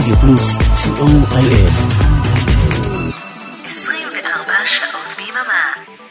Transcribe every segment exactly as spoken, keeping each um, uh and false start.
רדיו פלוס, סי או איי אס. עשרים וארבע שעות ביממה.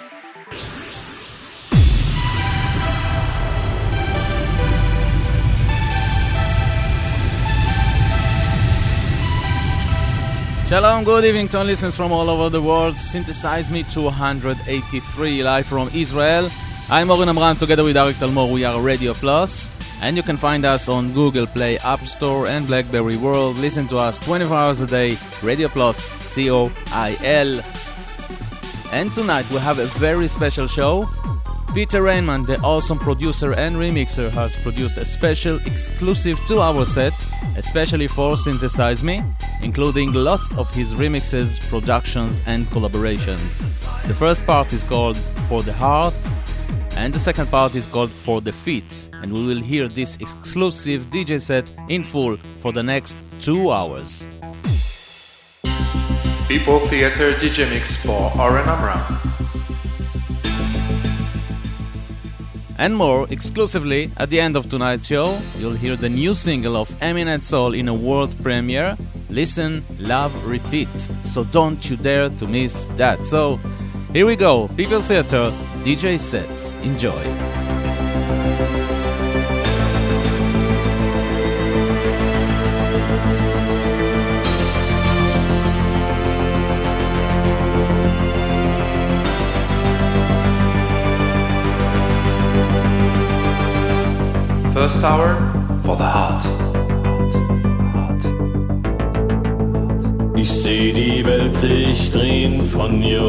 Shalom, good evening to all listeners from all over the world. Synthesize Me two eighty-three, live from Israel. I'm Oren Amram, together with Arik Talmor, we are Radio Plus. And you can find us on Google Play, App Store and BlackBerry World. Listen to us twenty-four hours a day, Radio Plus, C O I L. And tonight we have a very special show. Peter Rainman, the awesome producer and remixer, has produced a special exclusive two-hour set, especially for Synthesize Me, including lots of his remixes, productions and collaborations. The first part is called For the Heart, and the second part is called For the Feet, and we will hear this exclusive D J set in full for the next two hours. People Theater D J Mix for Oren Amram. And more, exclusively, at the end of tonight's show, you'll hear the new single of Eminent Soul in a world premiere, Listen, Love, Repeat. So don't you dare to miss that. So, here we go, People Theater, D J sets. Enjoy. First hour, For the Heart. Ich seh die Welt sich drehen von hier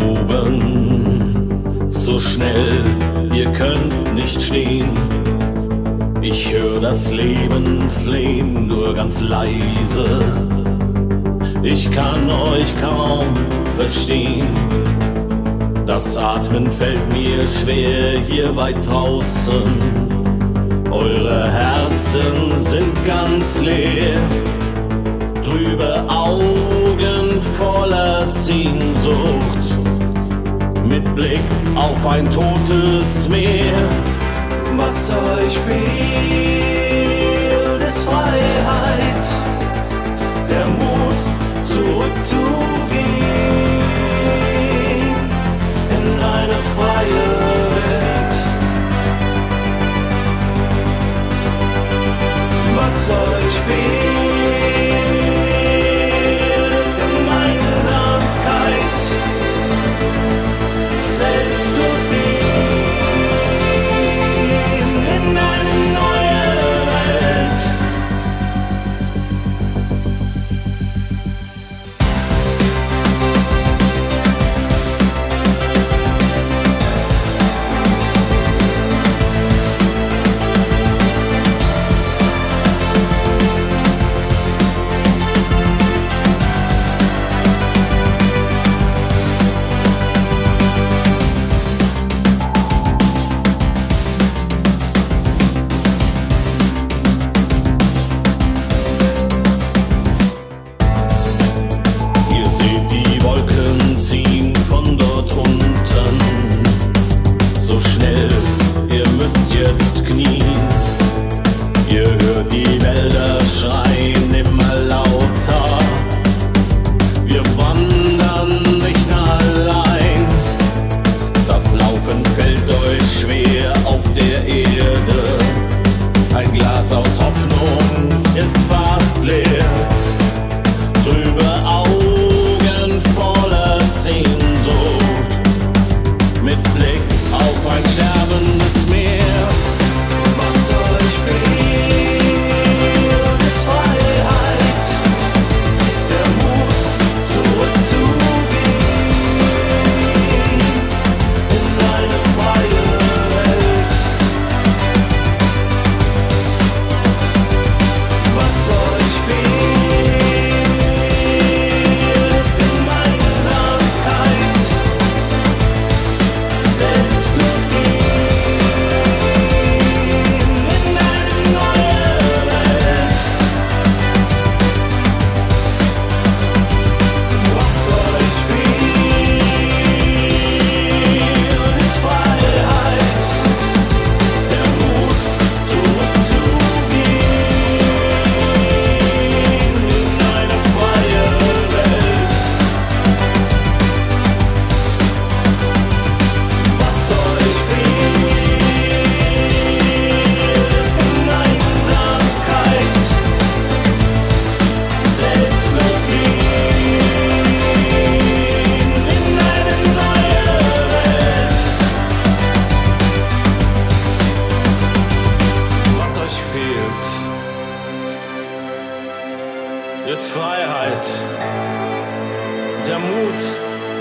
oben. So schnell, ihr könnt nicht stehen. Ich hör das Leben flehen, nur ganz leise. Ich kann euch kaum verstehen. Das Atmen fällt mir schwer hier weit draußen. Eure Herzen sind ganz leer, trübe Augen voller Sehnsucht, mit Blick auf ein totes Meer. Was euch fehlt, ist Freiheit, der Mut zurückzugehen in eine freie Welt. Was euch fehlt, ist Gemeinsamkeit, selbstlos gehen in eine neue Welt.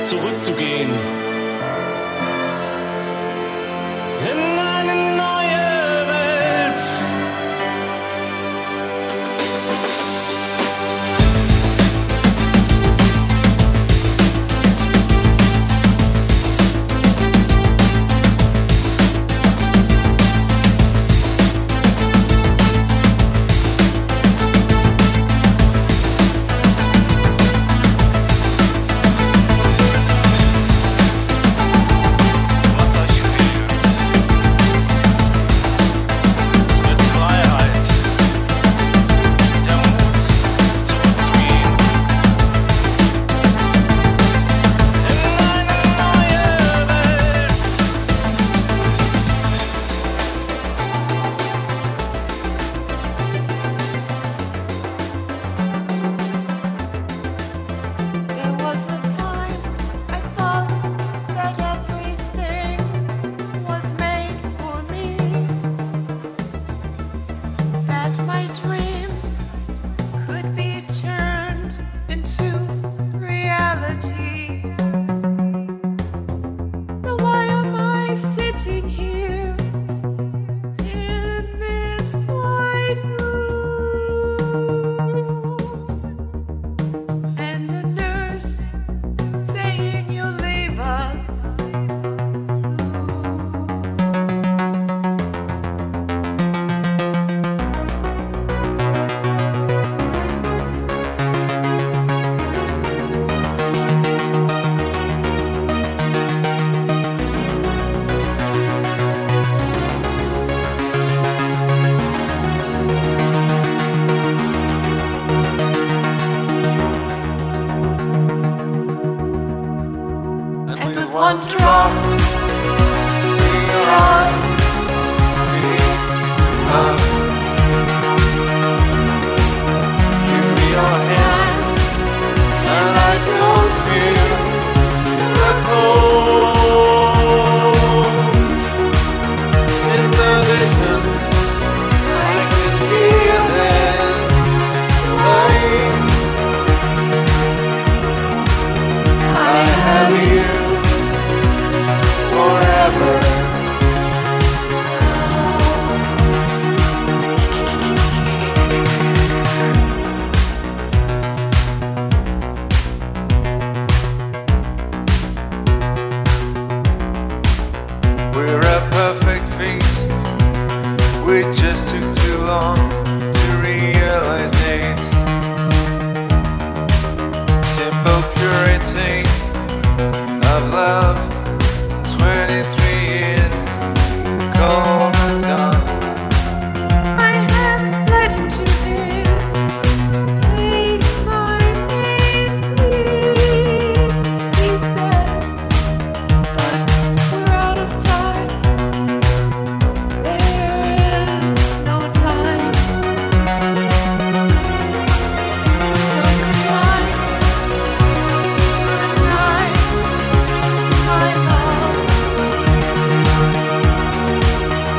zurückzugehen. In eine neue Welt. One drop, we are peace, love. Give me your hand, and I don't feel the cold. In the distance, I can hear this light. I have you forever. We're a perfect fit. We just took too long to realize it. Simple purity of love. Twenty-three years, cold and gone. My hands bled into his. Take my name, please, he said. But we're out of time. There is no time. So goodnight, goodnight, my love.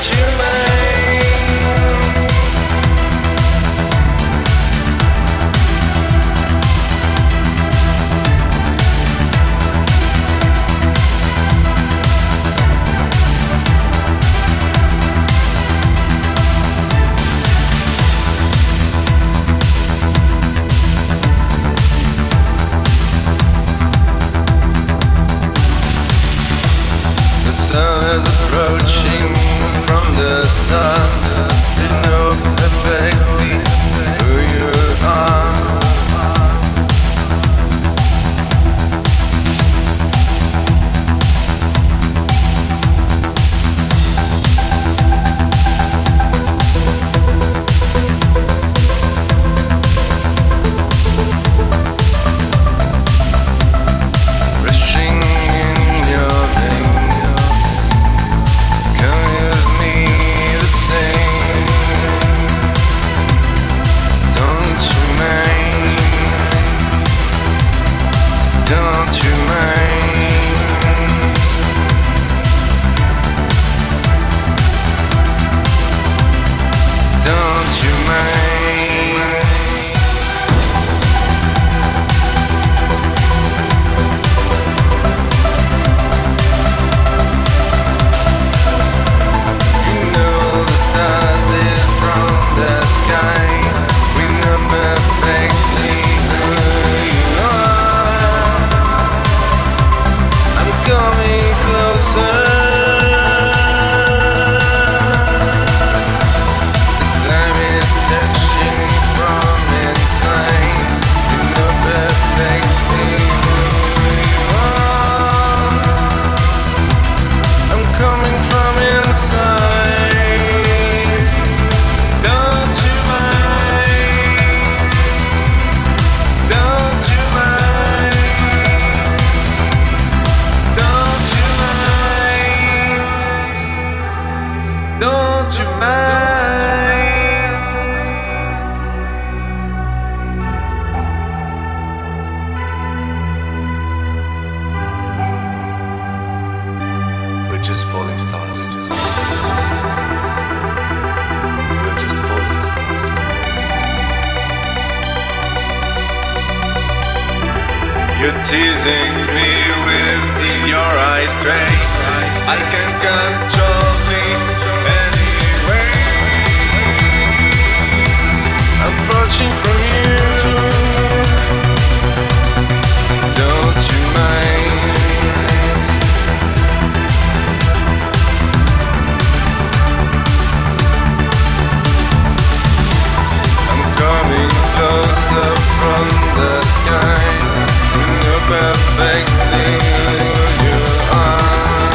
you mind? The sun is approaching from the stars. You know perfectly who you are. Rushing in your veins, come with me the same. Don't you mind? Don't you mind? Don't you mind? You know the stars is from the sky. We know perfectly who you are. I'm coming closer. The time is touching from inside. You know perfectly who you are. I'm coming from inside. Don't you mind? Don't you mind? Don't you mind? Don't you mind? We're just falling stars. We're just falling stars. You're teasing me with your eyes straight. I can't control me anyway. Approaching from you. Don't you mind? I'm coming closer from the sky. You know perfectly who you are.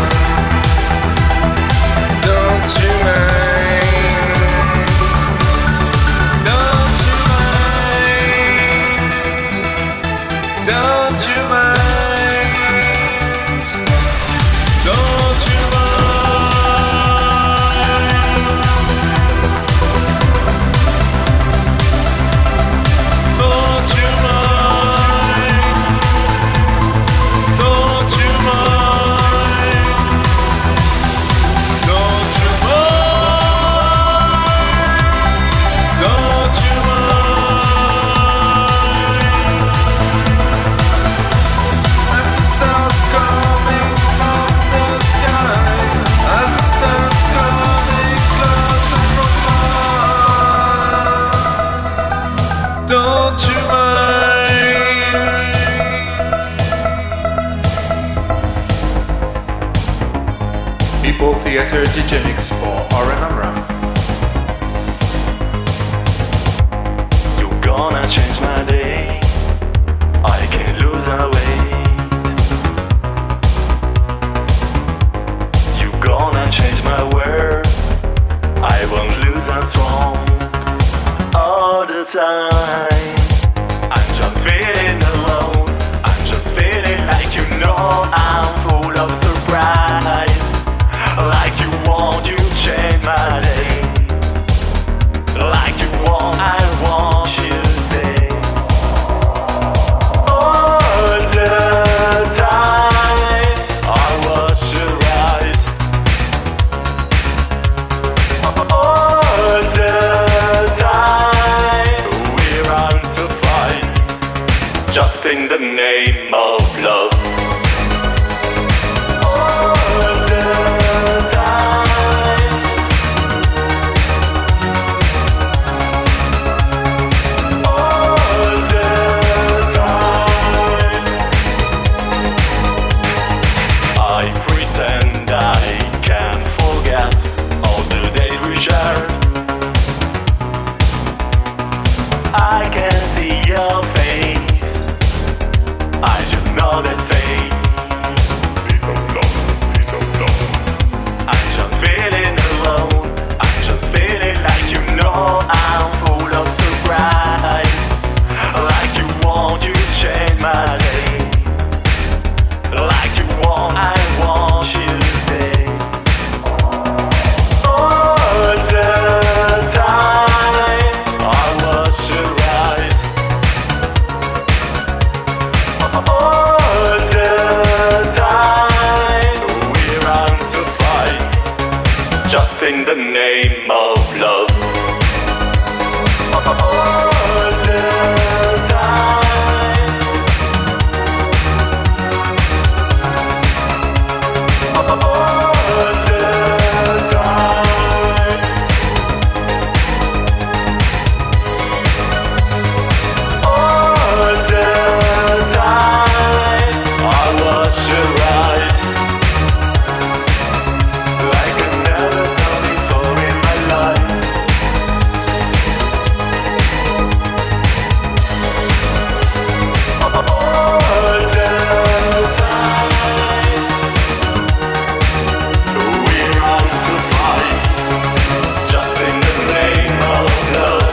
Don't you mind? Don't you mind? Don't you mind? Don't you mind? Don't you mind? Don't you mind? Don't you mind? Don't you mind? As the sounds coming from the sky, as the stars coming closer from far. Don't you mind? People Theater D J Mix for Oren Amram. You're gonna change my day. I can't lose away. You're gonna change my world. I won't lose as strong all the time. I'm just feeling alone. I'm just feeling like you know I'm full of surprise. Like you want, you change my day. Like you want, I want you to stay. All the time I watch your eyes. in the name of love. All the time. All the time. All the time. I watch you ride like I never done before in my life. All the time. We run to fight just in the name of love.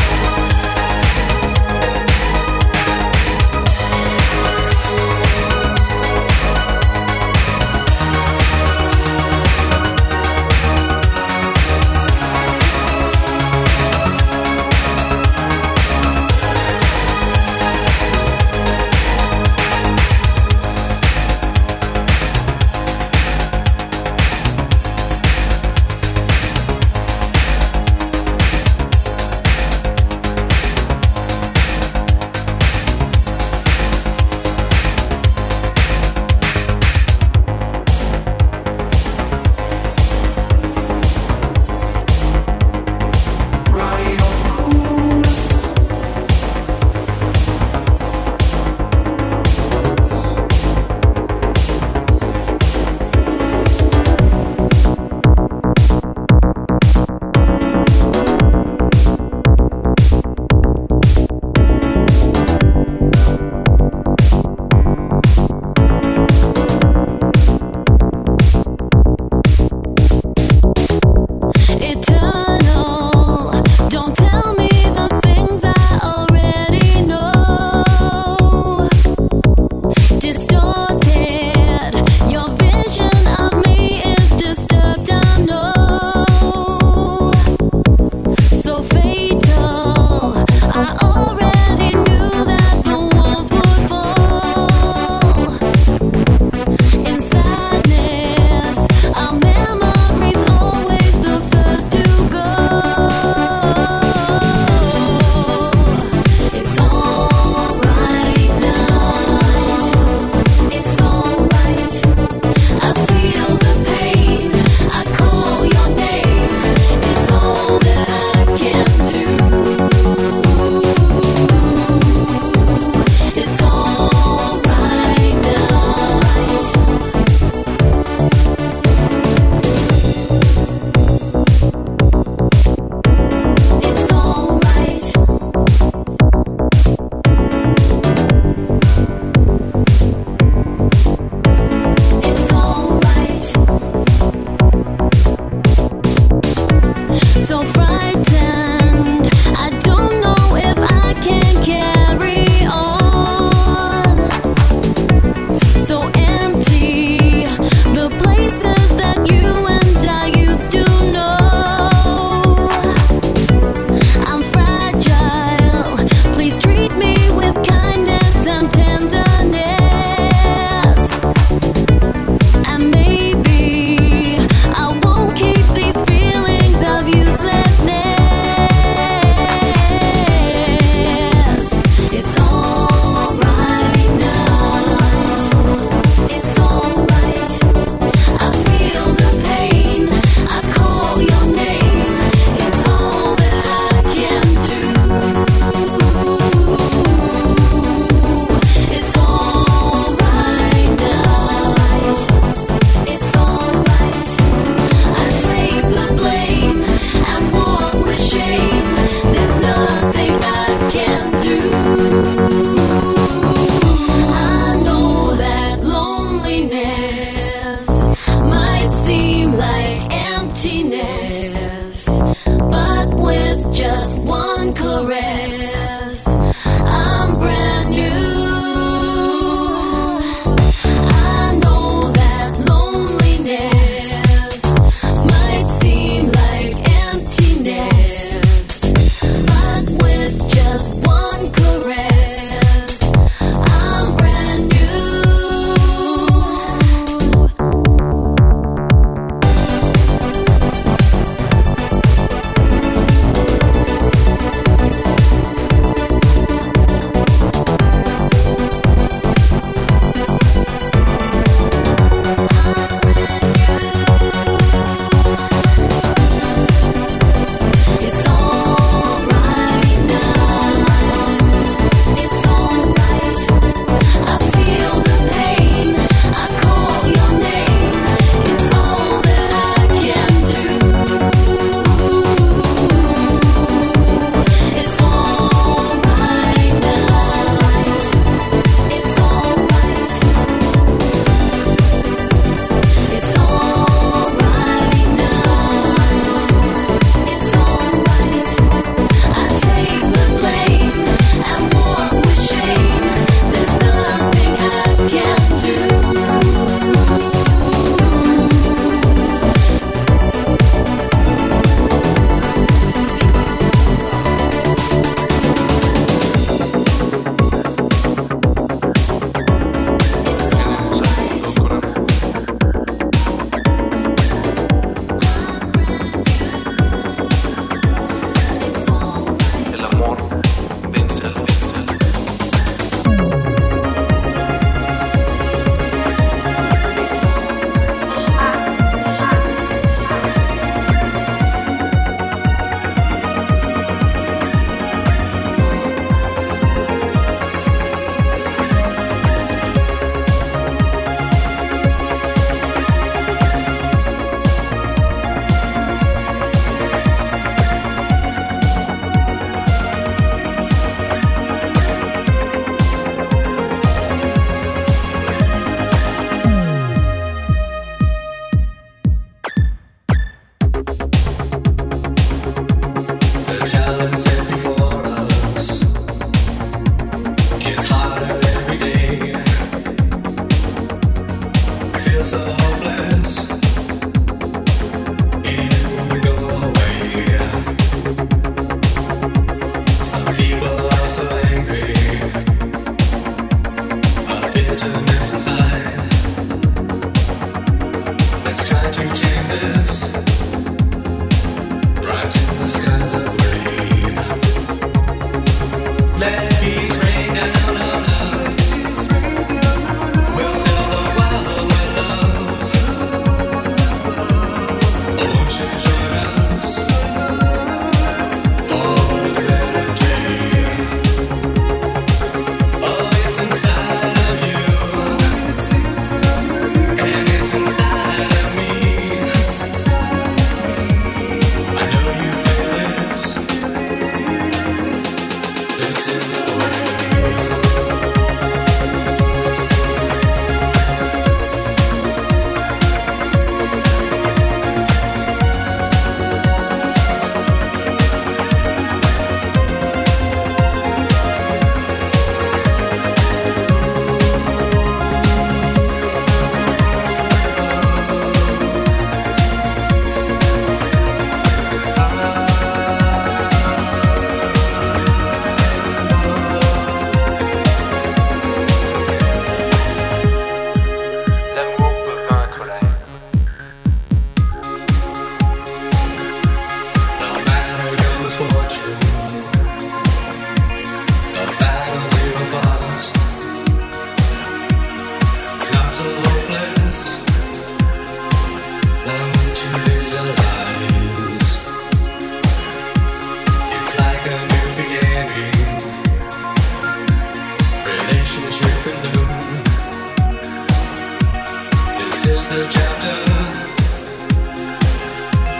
Eternal, don't tell me the things I already know. Distorted, your vision of me is disturbed, I know. So fatal, I already knew that the walls would fall. In sadness, our memories always the first to go. It's alright now. It's alright. I feel the pain. I call your name. It's all that I can do. It's alright now. It's alright. It's alright. So frightened, I don't know if I can carry on. So empty, the places that you and I used to know. I'm fragile, please treat me with kindness and tenderness. And maybe I won't keep these feelings of uselessness. It's alright now. It's alright. I feel the pain. I call your name. It's all that I can do. It's alright now. It's alright. I take the blame and walk with shame. There's nothing I can do. I know that loneliness might seem like emptiness, but with just one caress, I'm brand new. I know that loneliness might seem like emptiness, but with just one caress, I'm brand new.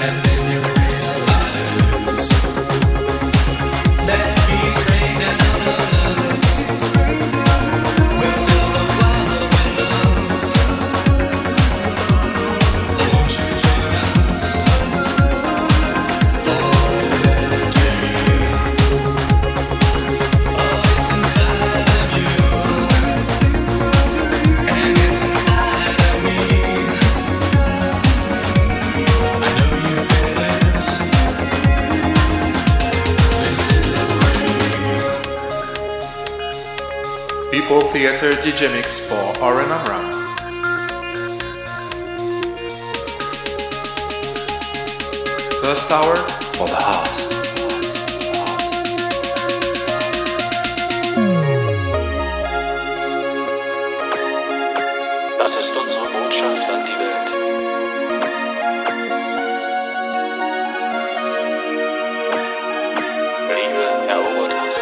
People Theater D J Mix for Oren Amram. First hour for the heart. Das ist unsere Botschaft an die Welt. Liebe erobert Hass.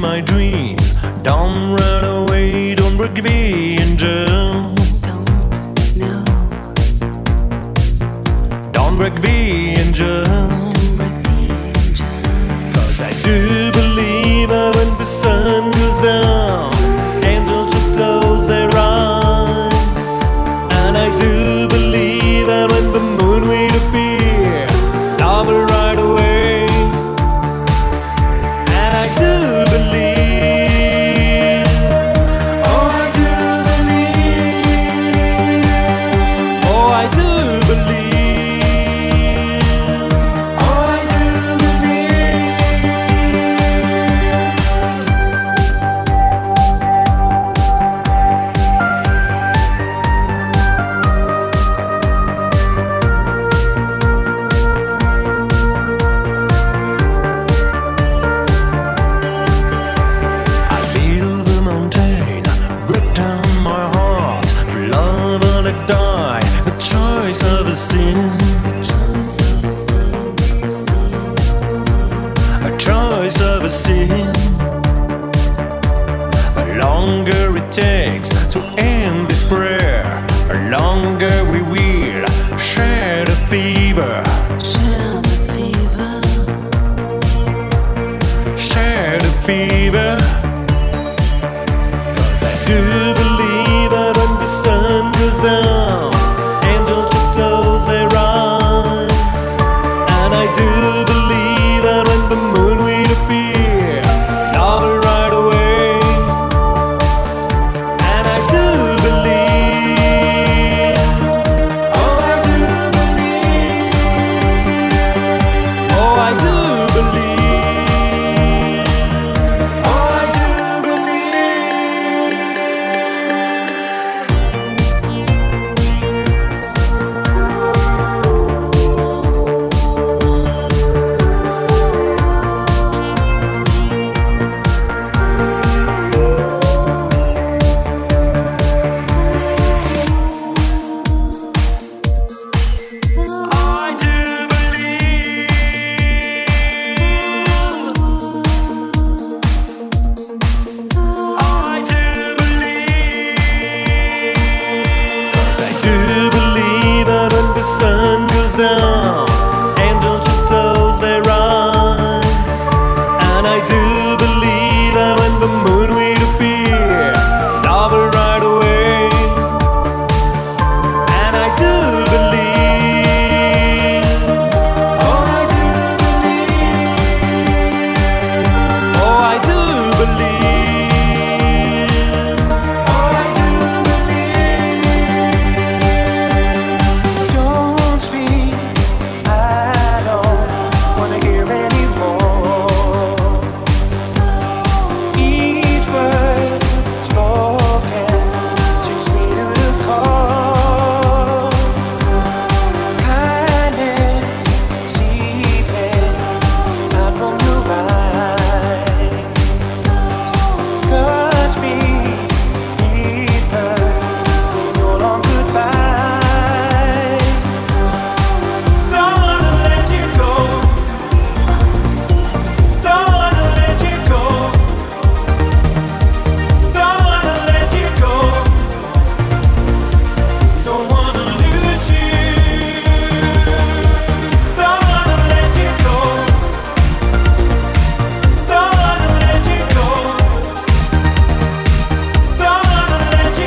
my dreams. Don't run away, don't break the angel. Don't know, Don't break the angel. don't break the angel. Cause I do believe that when the sun goes down, angels should close their eyes. And I do believe that when the moon will appear, love will ride away. And I do believe, oh I do believe, oh I do believe, oh I do believe. I feel the mountain break down my heart. To love or to die, the choice of a sin. A choice of a sin. The longer it takes to end this prayer, the longer we will share the fever. Share the fever. Share the fever. Cause I do believe that when the sun goes down, angels should close their eyes. And I do believe that when the moon will appear, love will ride away. And I do believe, oh I do believe, oh I do believe, oh I do believe. I do believe, I do believe, 'cause I do believe that when the sun goes down, angels should close their eyes. And I do believe that when the moon will appear, love will ride away. And I do believe, oh I do believe, oh I do believe, oh I do believe. Don't speak, I don't wanna hear anymore. Each word spoken takes me to the core. Kindness seeping out from your eyes. Touch me deeper in your long goodbye. Don't wanna let you go. Don't wanna let you go. Don't wanna let you go. Don't wanna lose you. Don't wanna let you go. Don't wanna let you go. Don't wanna let you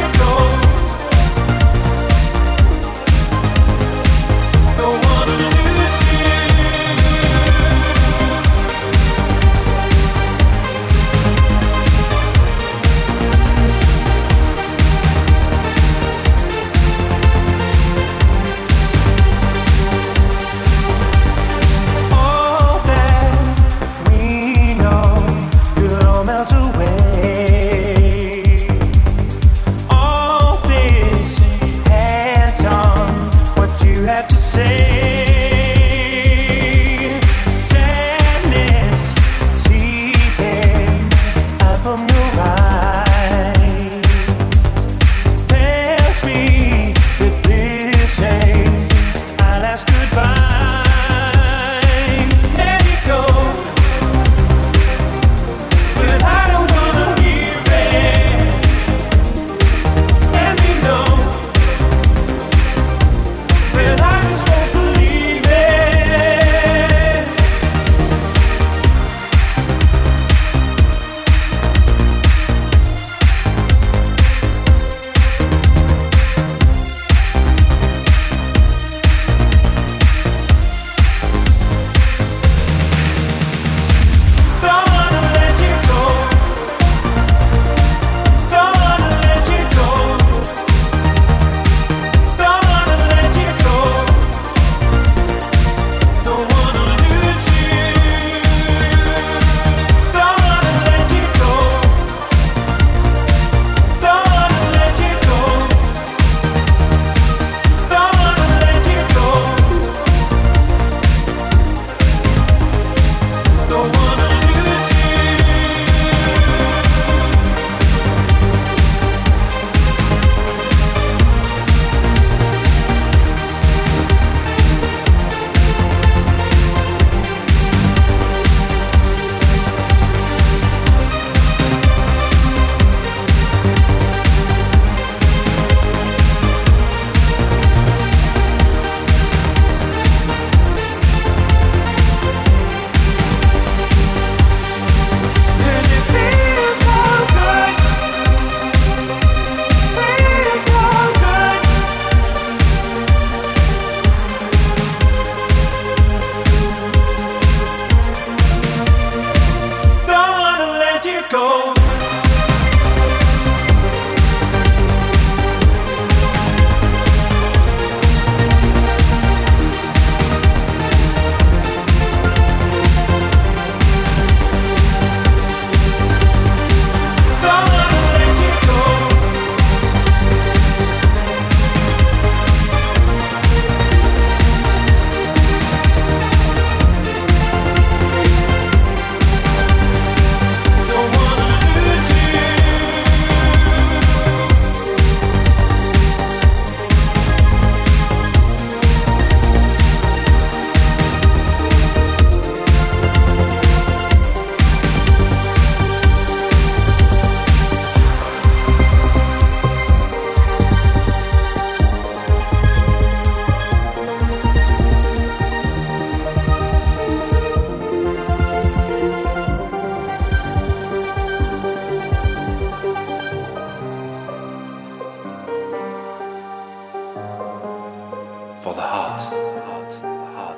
hot, hot, hot.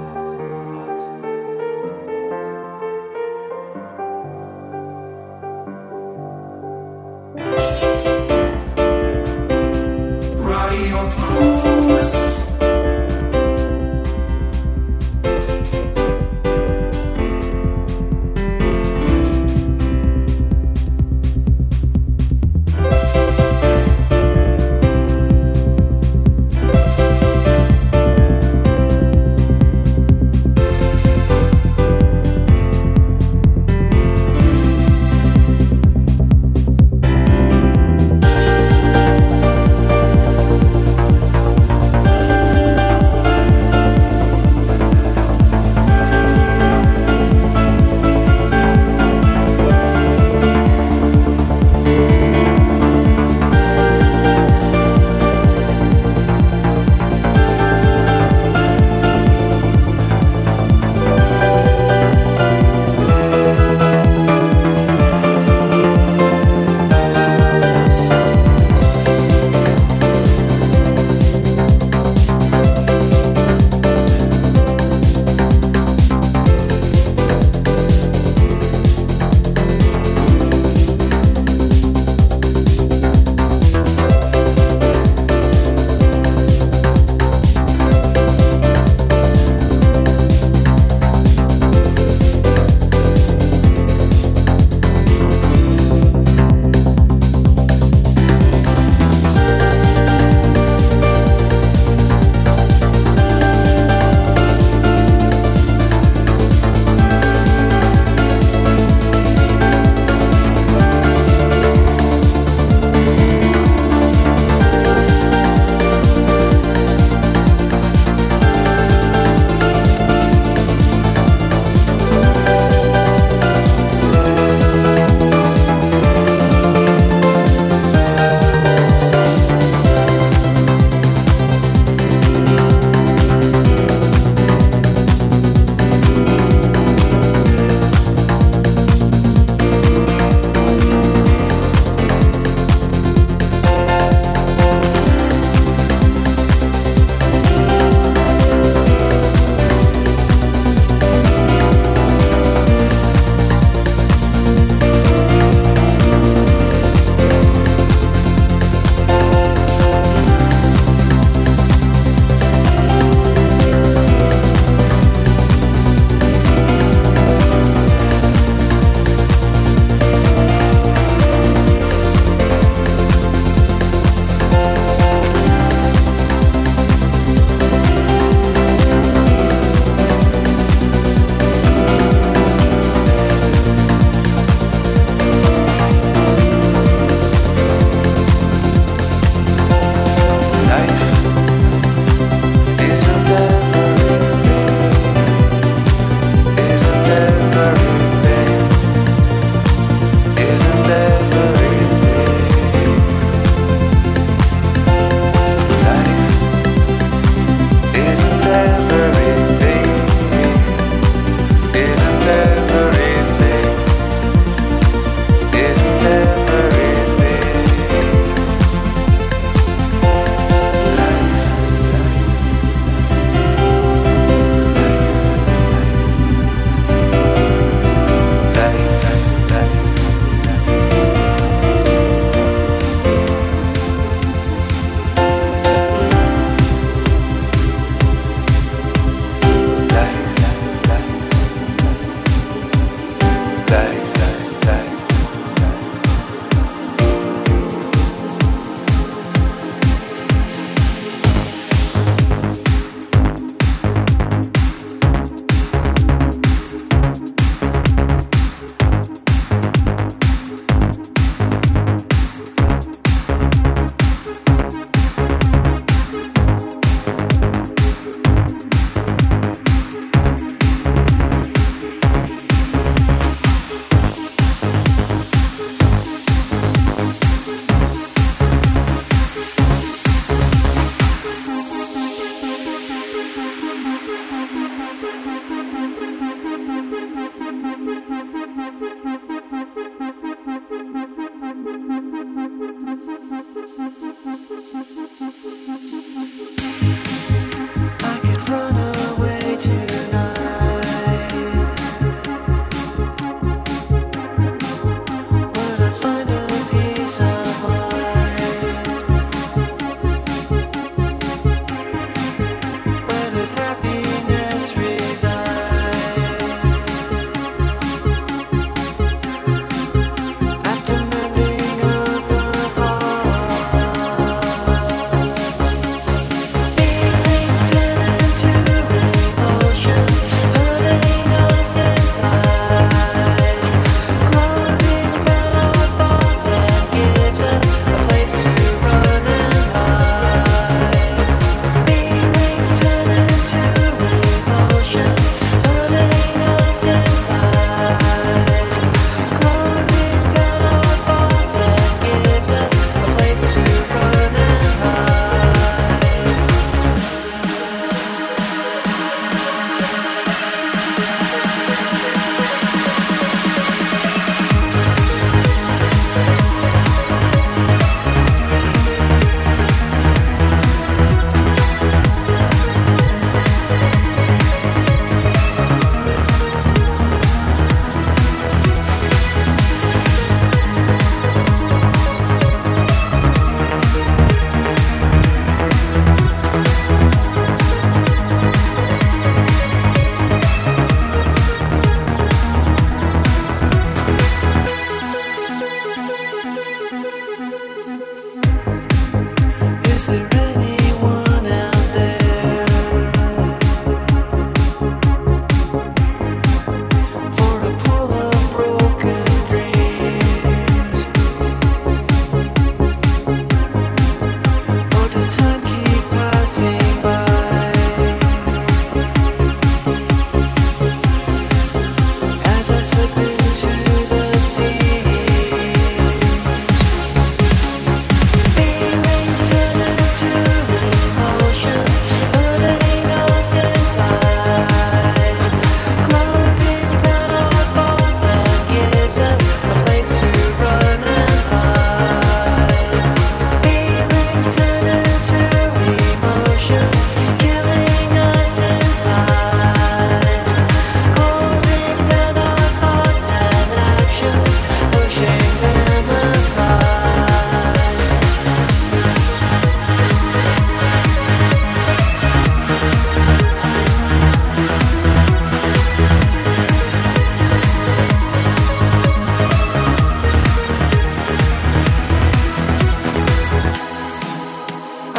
Radio Plus.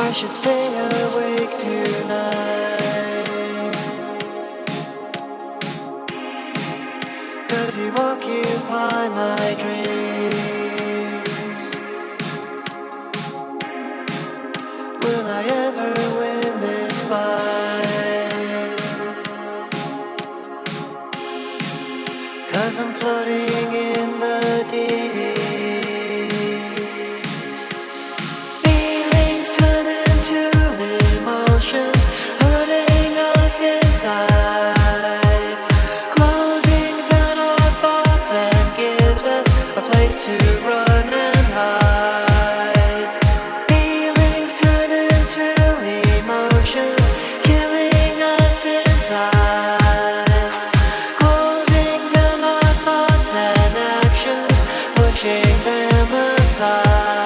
should stay awake tonight, 'cause you occupy my dreams. Will I ever win this fight? 'Cause I'm floating in the deep. Feelings turn into emotions, hurting us inside, closing down our thoughts and gives us a place to run and hide. Feelings turn into emotions, killing us inside, closing down our thoughts and actions, pushing them aside.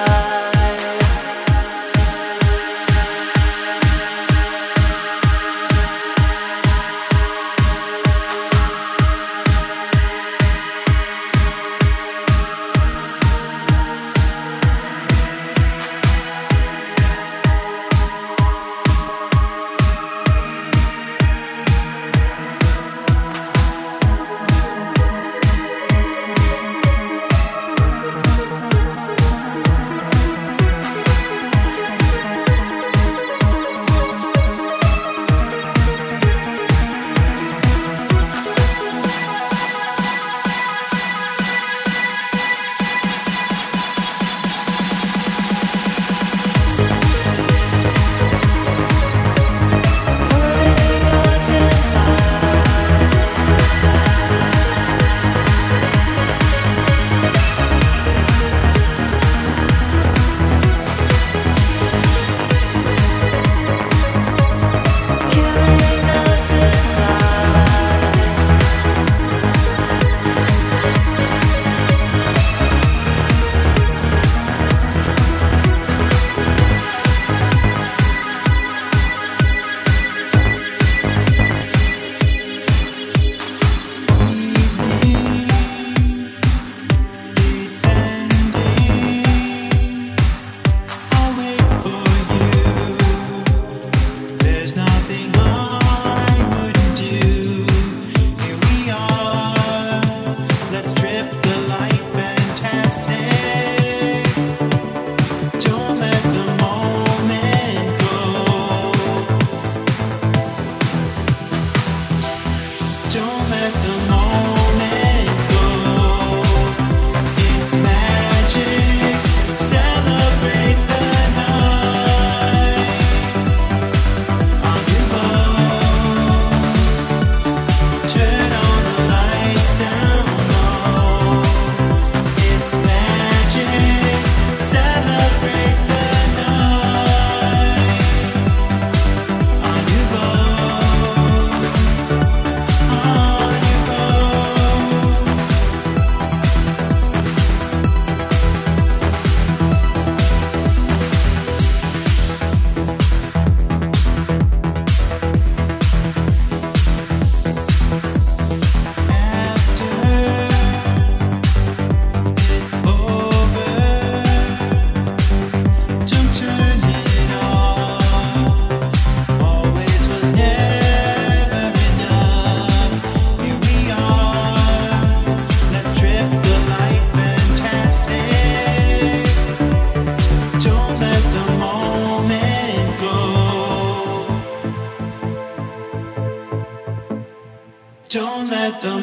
Don't let the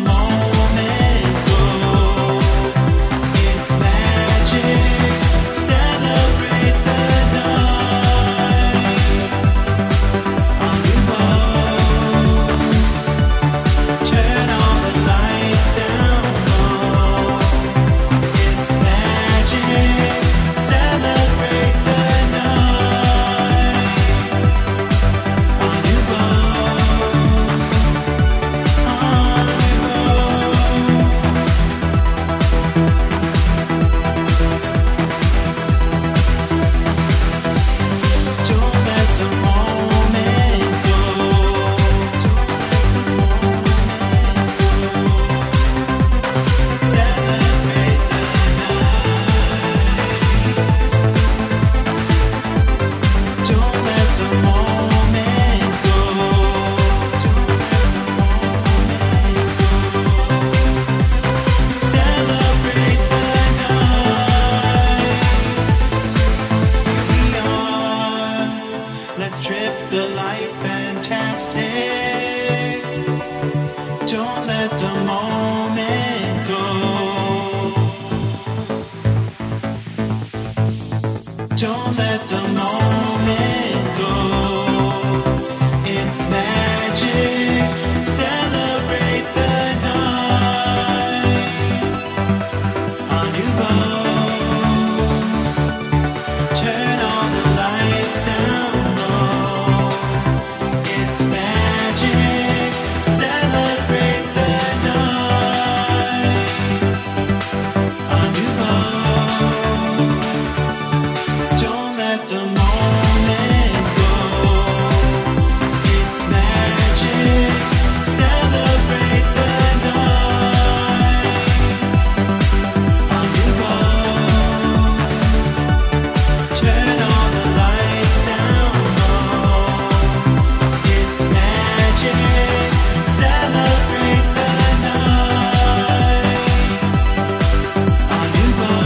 moment go. It's magic. Celebrate the night. On your own. Turn all the lights down low. It's magic. Celebrate the night. On your own. On your own. Don't let the moment go. It's magic. Celebrate the night. Un nouveau. Turn all the lights down low. It's magic. Celebrate the night. Un nouveau. Don't let the moment go. It's magic. Celebrate the night. Un nouveau. Turn all the lights down low. It's magic. Celebrate the night. Un nouveau.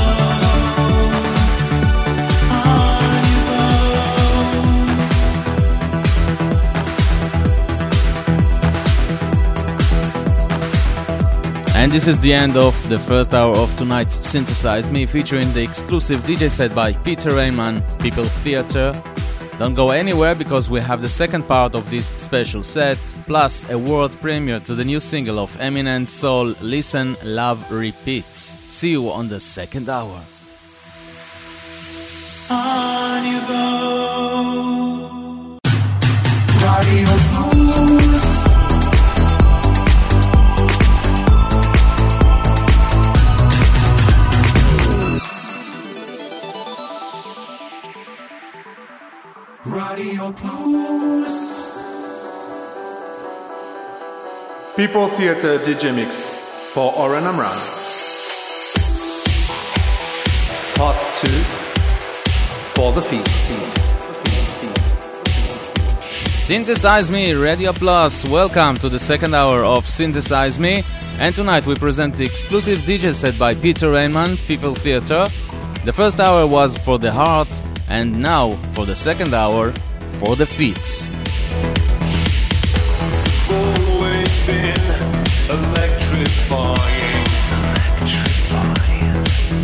And this is the end of the first hour of tonight's Synthesize Me, featuring the exclusive D J set by Peter Raymond, People Theater. Don't go anywhere because we have the second part of this special set, plus a world premiere to the new single of Eminent Soul, Listen, Love, Repeats. See you on the second hour. Un nouveau. Radio Plus. Radio Plus. People Theater D J Mix for Oren Amram. Part two for the feet. Synthesize Me, Radio Plus. Welcome to the second hour of Synthesize Me. And tonight we present the exclusive D J set by Peter Raymond, People Theater. The first hour was for the heart, and now for the second hour, for the feet. Always been electrifying. Electrifying.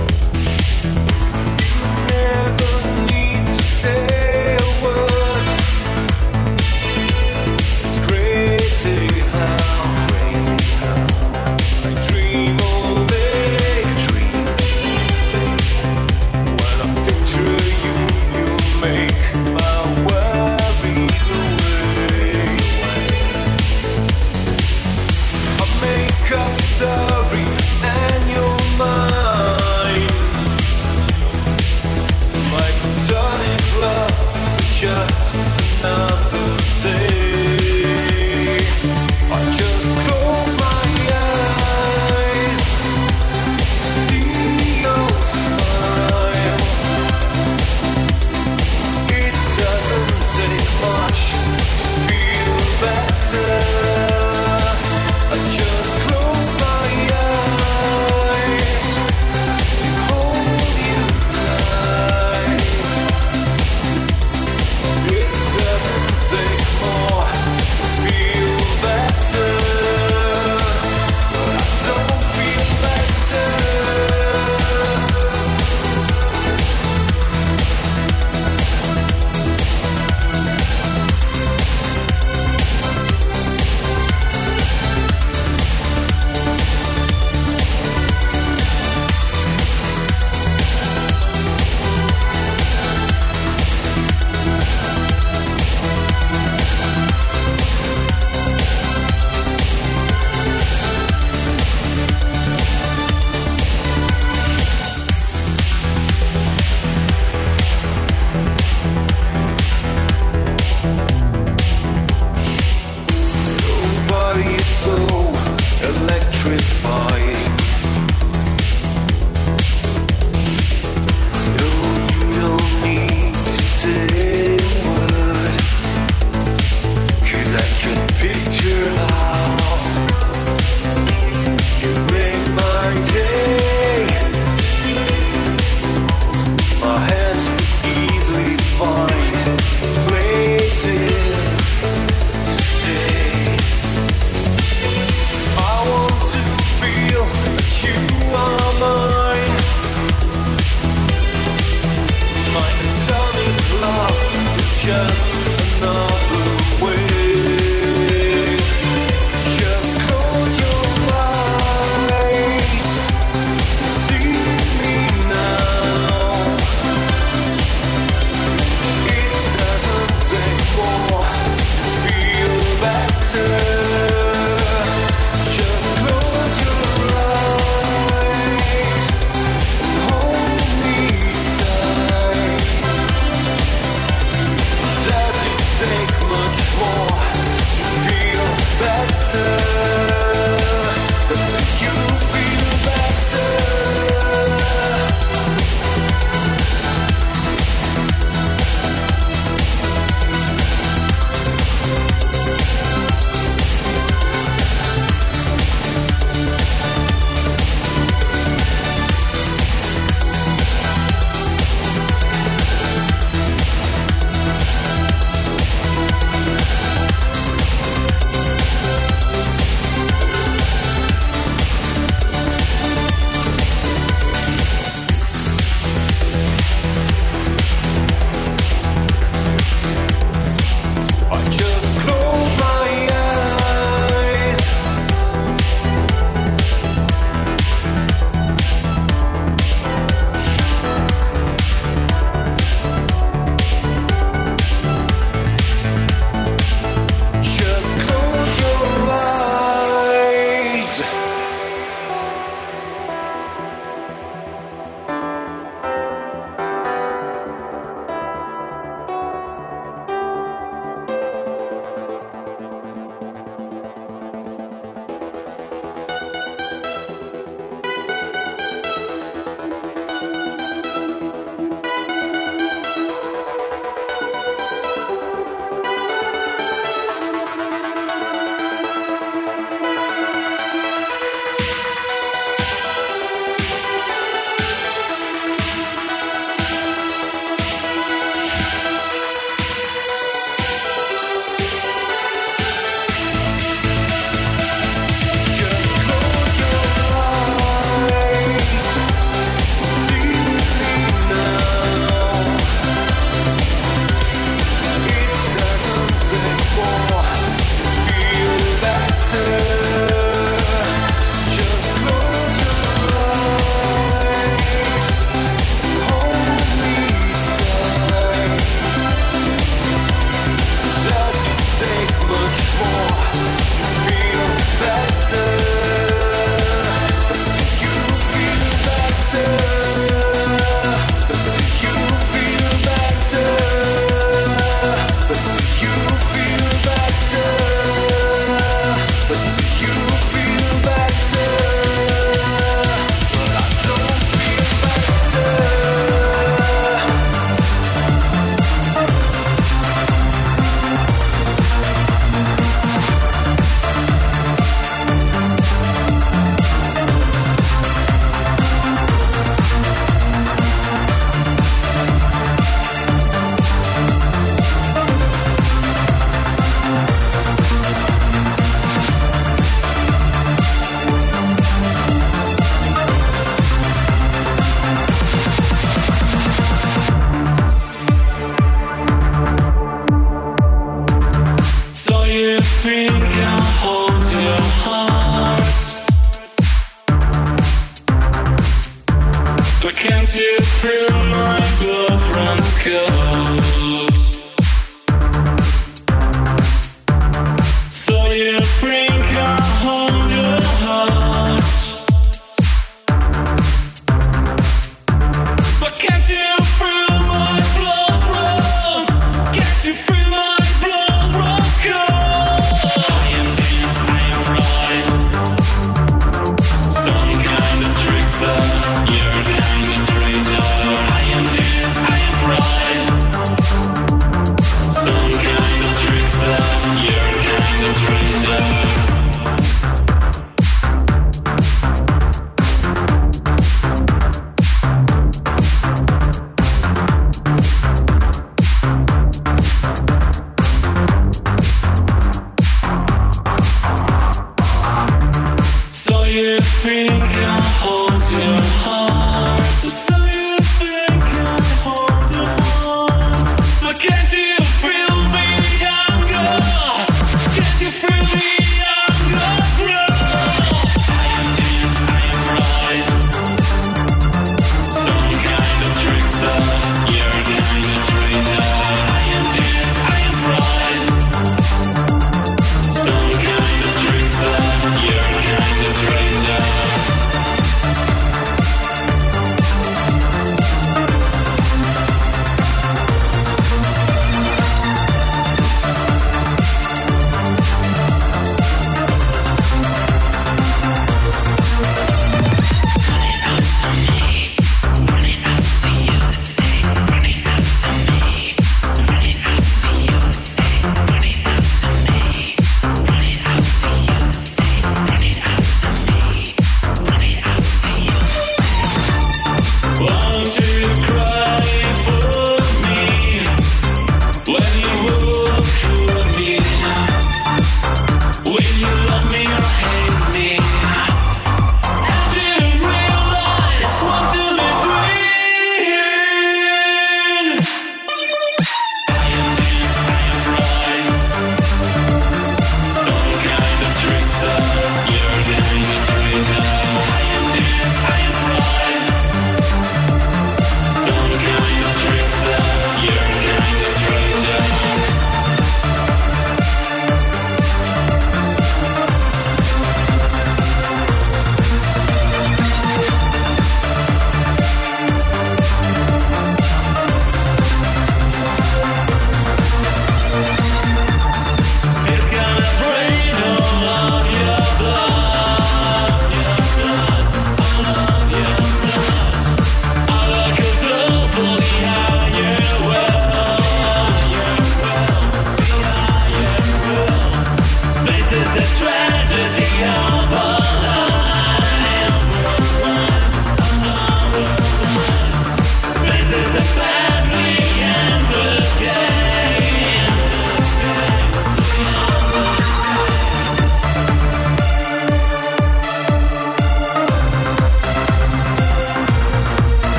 Never need to say a word. It's crazy how, crazy how I dream all day. Dream when I picture you, you make my worries away. I make up a story and you're mine. My platonic love for just another day. I just close my eyes, see your smile. It doesn't take much to feel better. I just close my eyes to hold you tight. It doesn't just another way. Just close your eyes, see me now. It doesn't take more to feel better. Just close your eyes and hold me tight. That's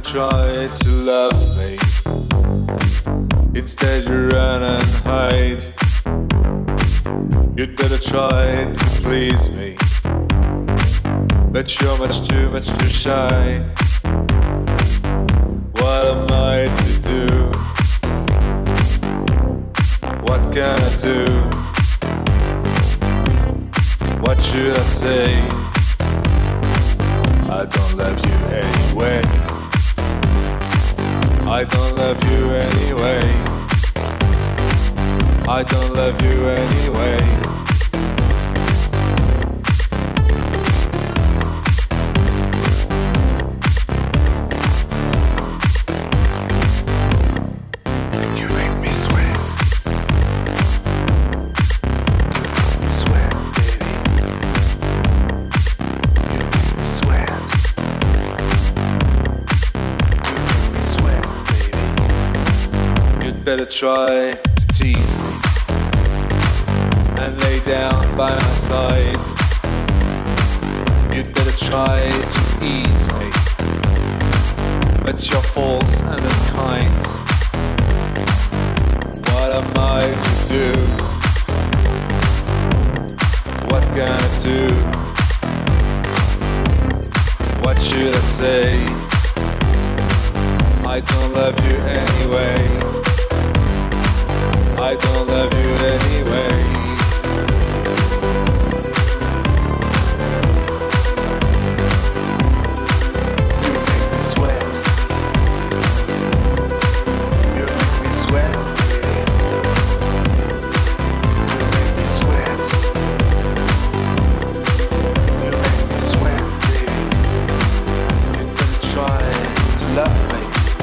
try to love me. Instead you run and hide. You'd better try to please me, but you're much too, much too shy. What am I to do? What can I do? What should I say? I don't love you anyway. I don't love you anyway. I don't love you anyway. You make me sweat. You make me sweat, baby. You make me sweat. You make me sweat, baby. You'd better try to tease me and lay down by my side. You'd better try to ease me, but you're false and unkind. What am I to do? What can I do? What should I say? I don't love you anyway. I don't love you anyway. You make me sweat. You make me sweat. You make me sweat. You make me sweat, baby. You'd better try to love me.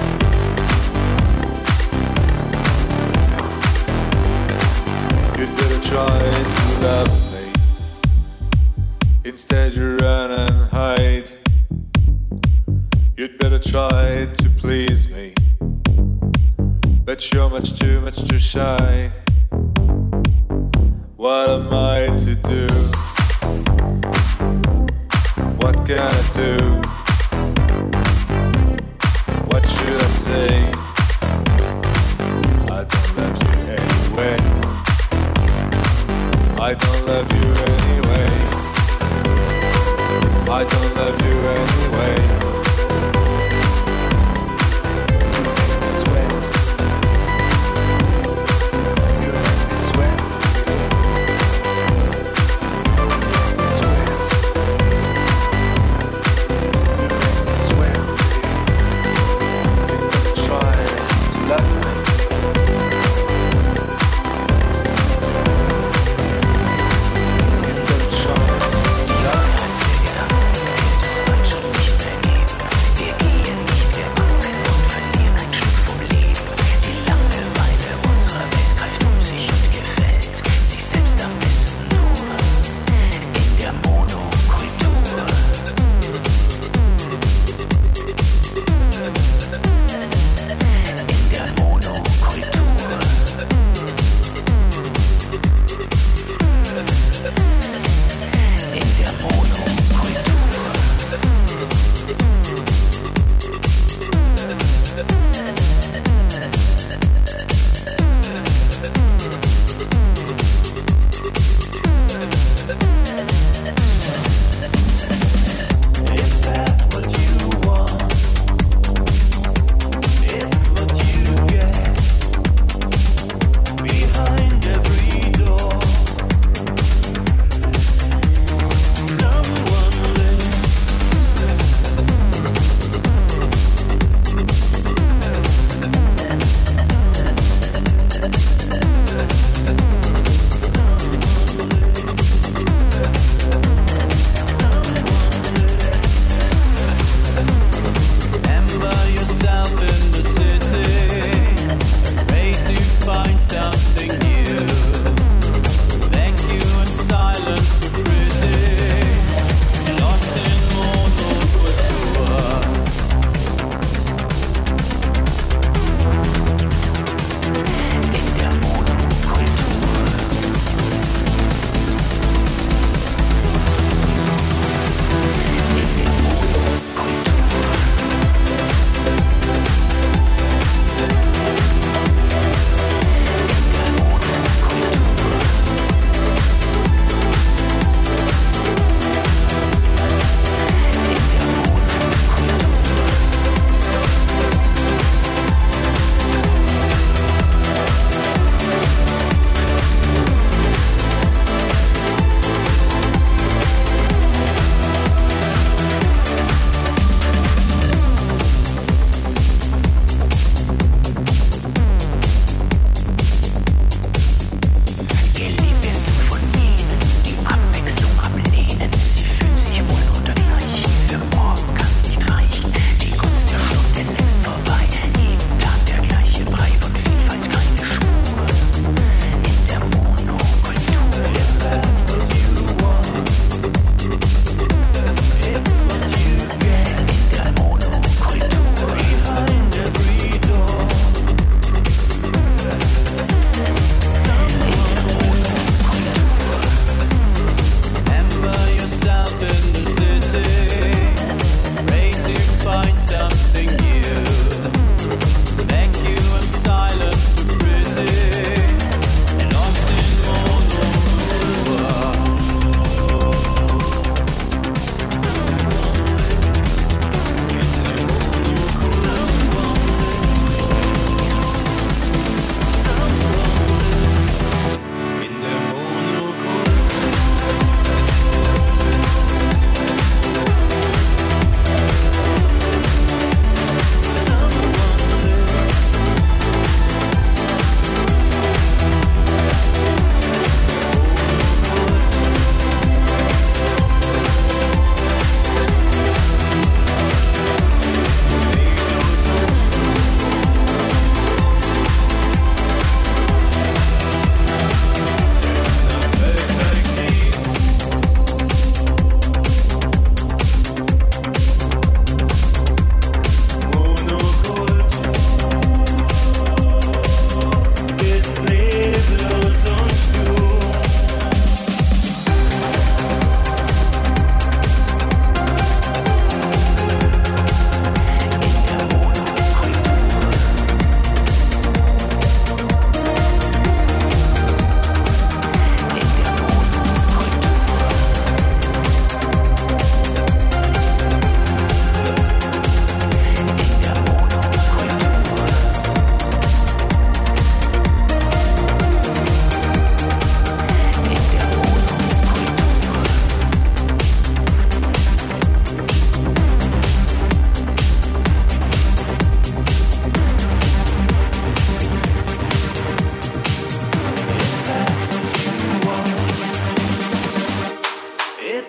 You'd better try to love me. Instead you run and hide. You'd better try to please me, but you're much too, much too shy. What am I to do? What can I do? What should I say? I don't love you anyway. I don't love you anyway. I don't love you anyway. You make me sweat. You make me sweat. You make me sweat. You make me sweat. You better try to love me. You better try to love me.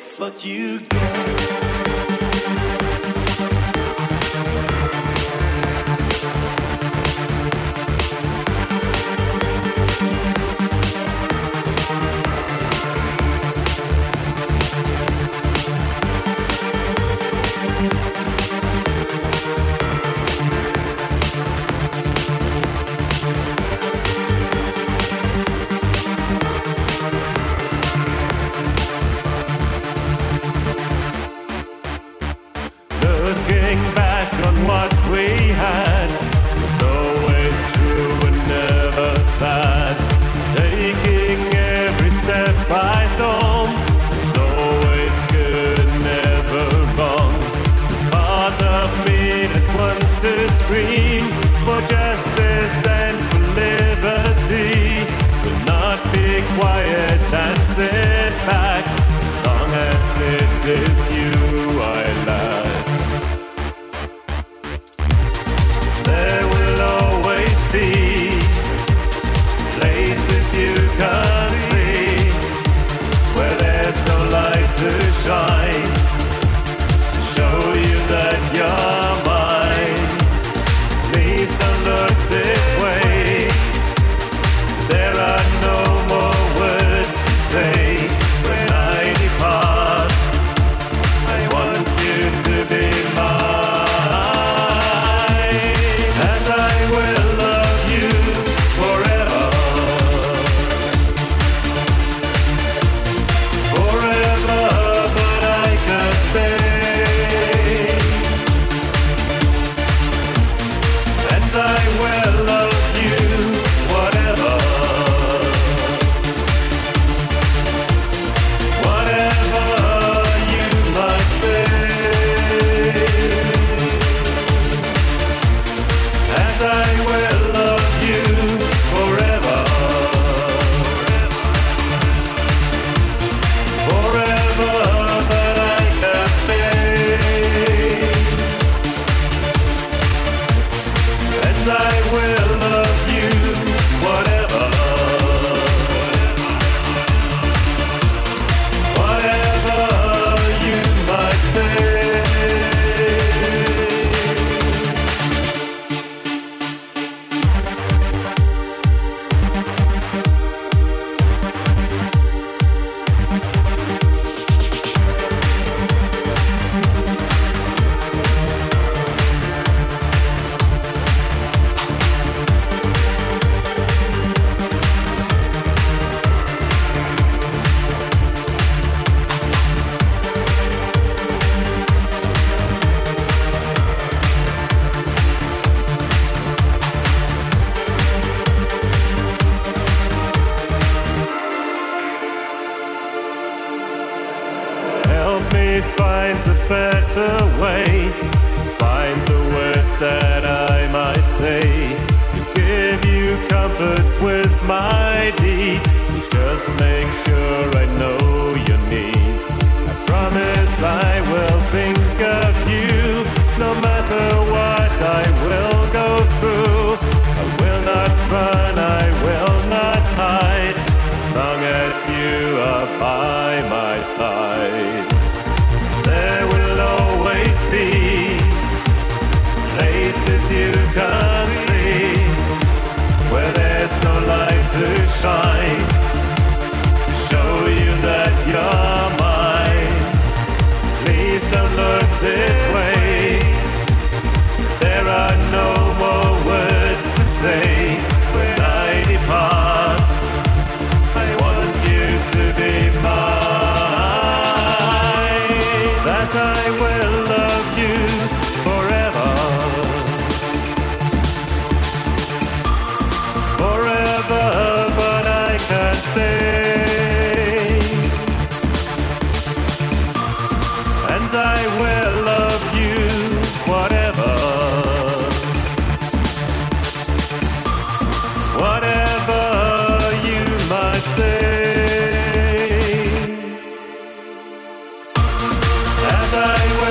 gets what you get. Looking back on what we had was always true and never sad. Taking every step by storm was always good and never wrong. There's part of me that wants to scream for justice and for liberty, but not be quiet and sit back as long as it is you I love. There will always be places you can't see where there's no light to shine to show you that you're mine. Please don't look this way. There are no more words to say when I depart. I want you to be mine. Find a better way to find the words that I might say to give you comfort with my deed. Please just make sure I know your needs. I promise I will think of you no matter what I will go through. I will not run, I will not hide as long as you are by my side. There will always be places you can't see where there's no light to shine to show you that you're mine. Please don't look this way. There are no more words to say when I depart. I want you to be mine. That I will love you forever, forever, but I can't stay. And I will love you whatever, whatever you might say. And I will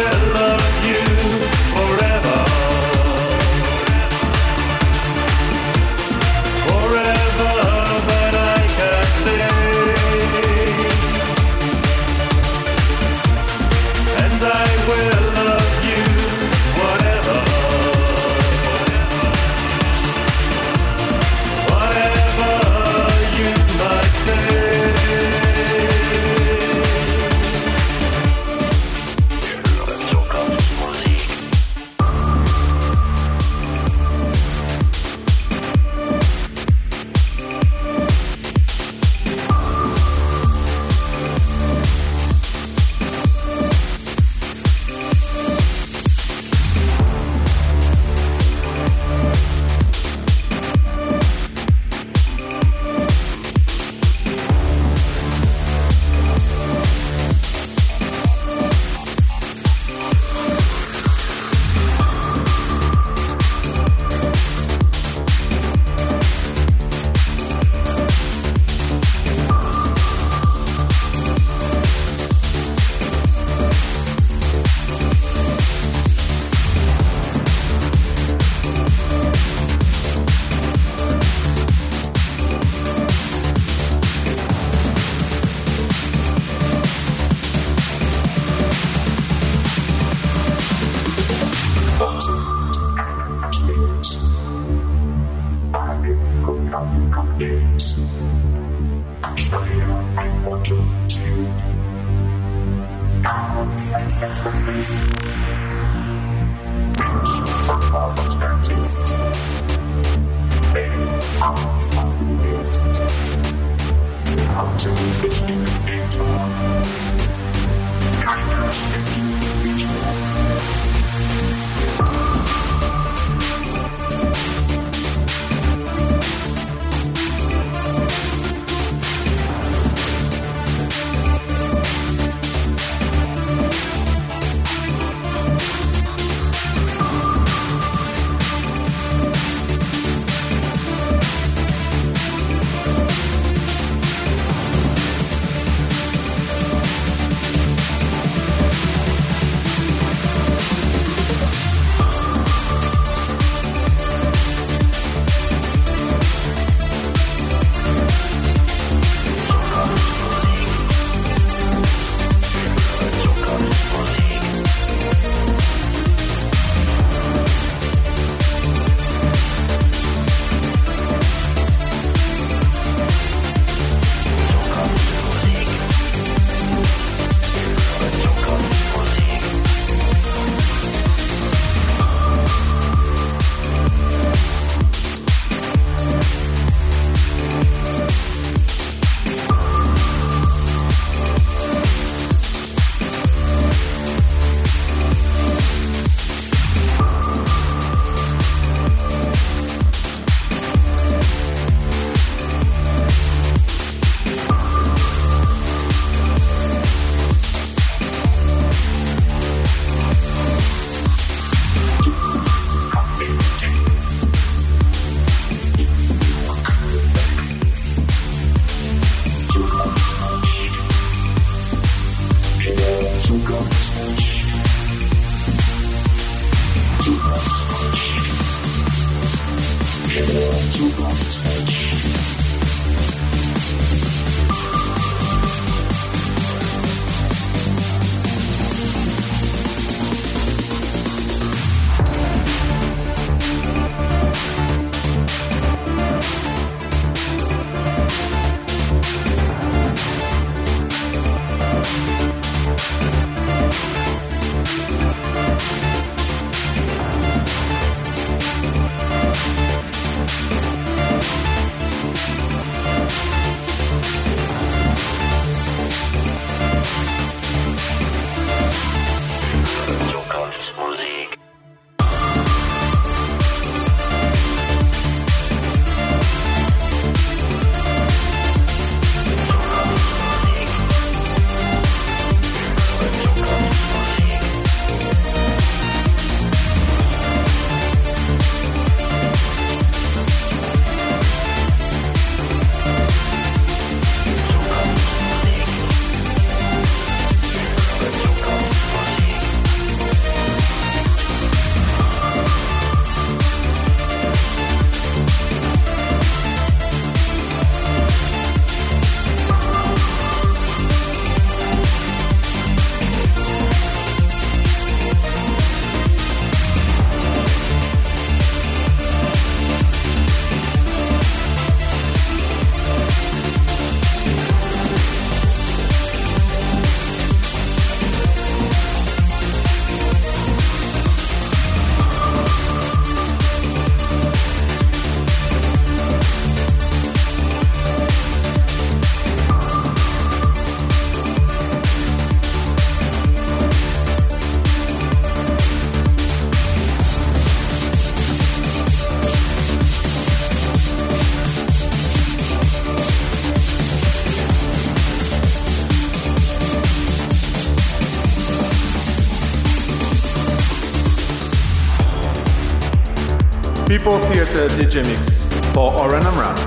People Theatre D J Mix for Oren Amram.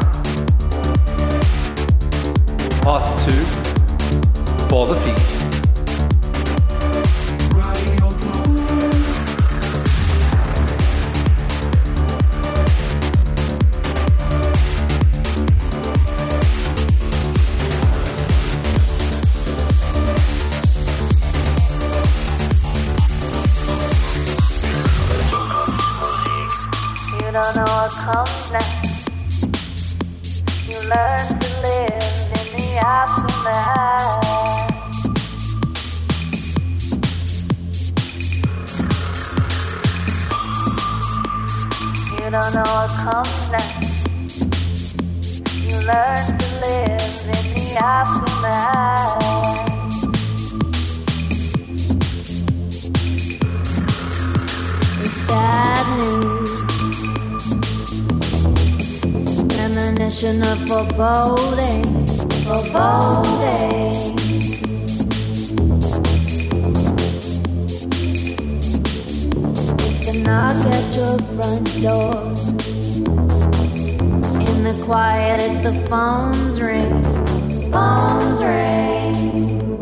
Part two for the feet. You don't know what comes next. You learn to live in the aftermath. You don't know what comes next. You learn to live in the aftermath. It's bad news. Premonition of foreboding, foreboding. It's the knock at your front door. In the quiet, it's the phone's ring, phone's ring.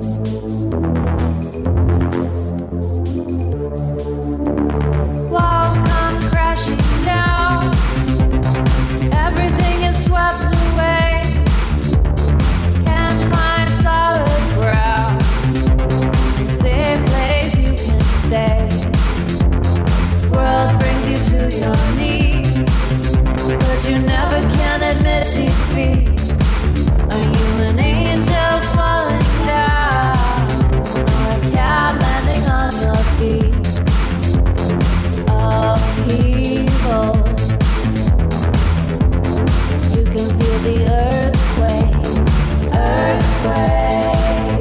Walls come crashing down. Everything is swept away. Can't find solid ground. Safe place you can stay. World brings you to your knees, but you never can admit defeat. Are you an angel falling down, or a cat landing on your feet? Upheaval. You can feel the earthquake, earthquake.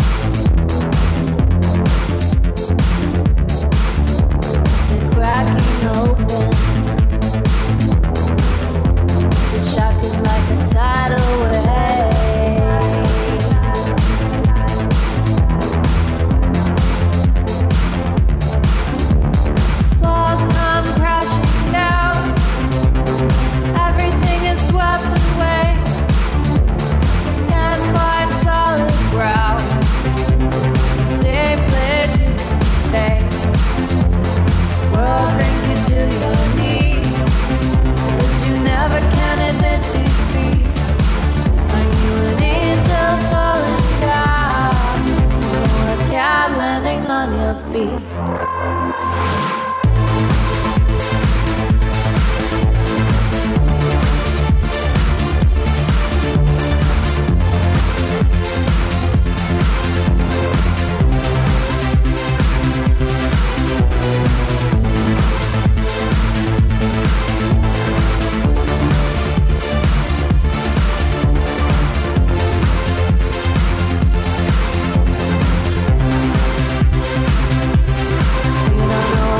The cracking open. The shock is like a tidal wave. Walls come crashing down. Everything is swept away. Can't find solid ground. Safe place you can stay. World brings you to your knees, but you never can admit defeat. Are you an angel falling down, or a cat landing on your feet? You don't know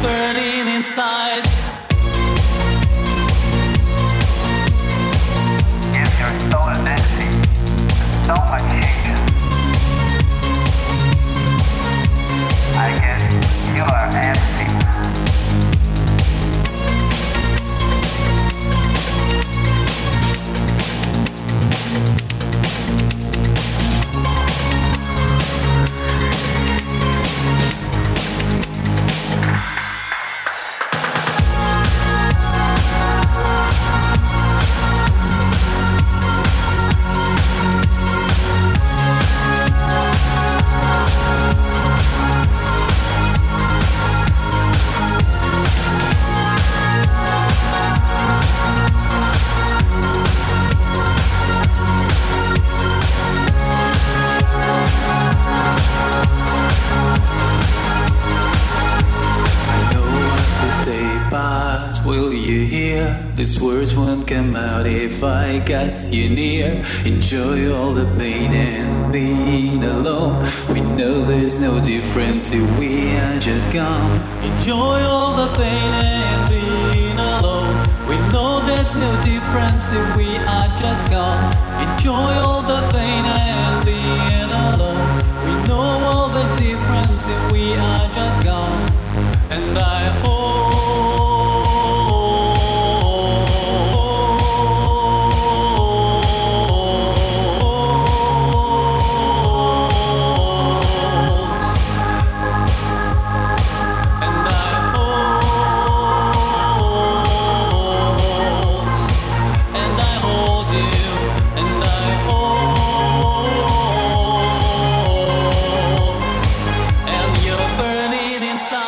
burning inside. If your soul is empty, so much changes. I guess you are empty. Will you hear? These words won't come out if I got you near. Enjoy all the pain and being alone. We know there's no difference if we are just gone. Enjoy all the pain and being alone. We know there's no difference if we are just gone. Enjoy all the pain and being alone. We know all the difference if we are just gone. And I hope inside.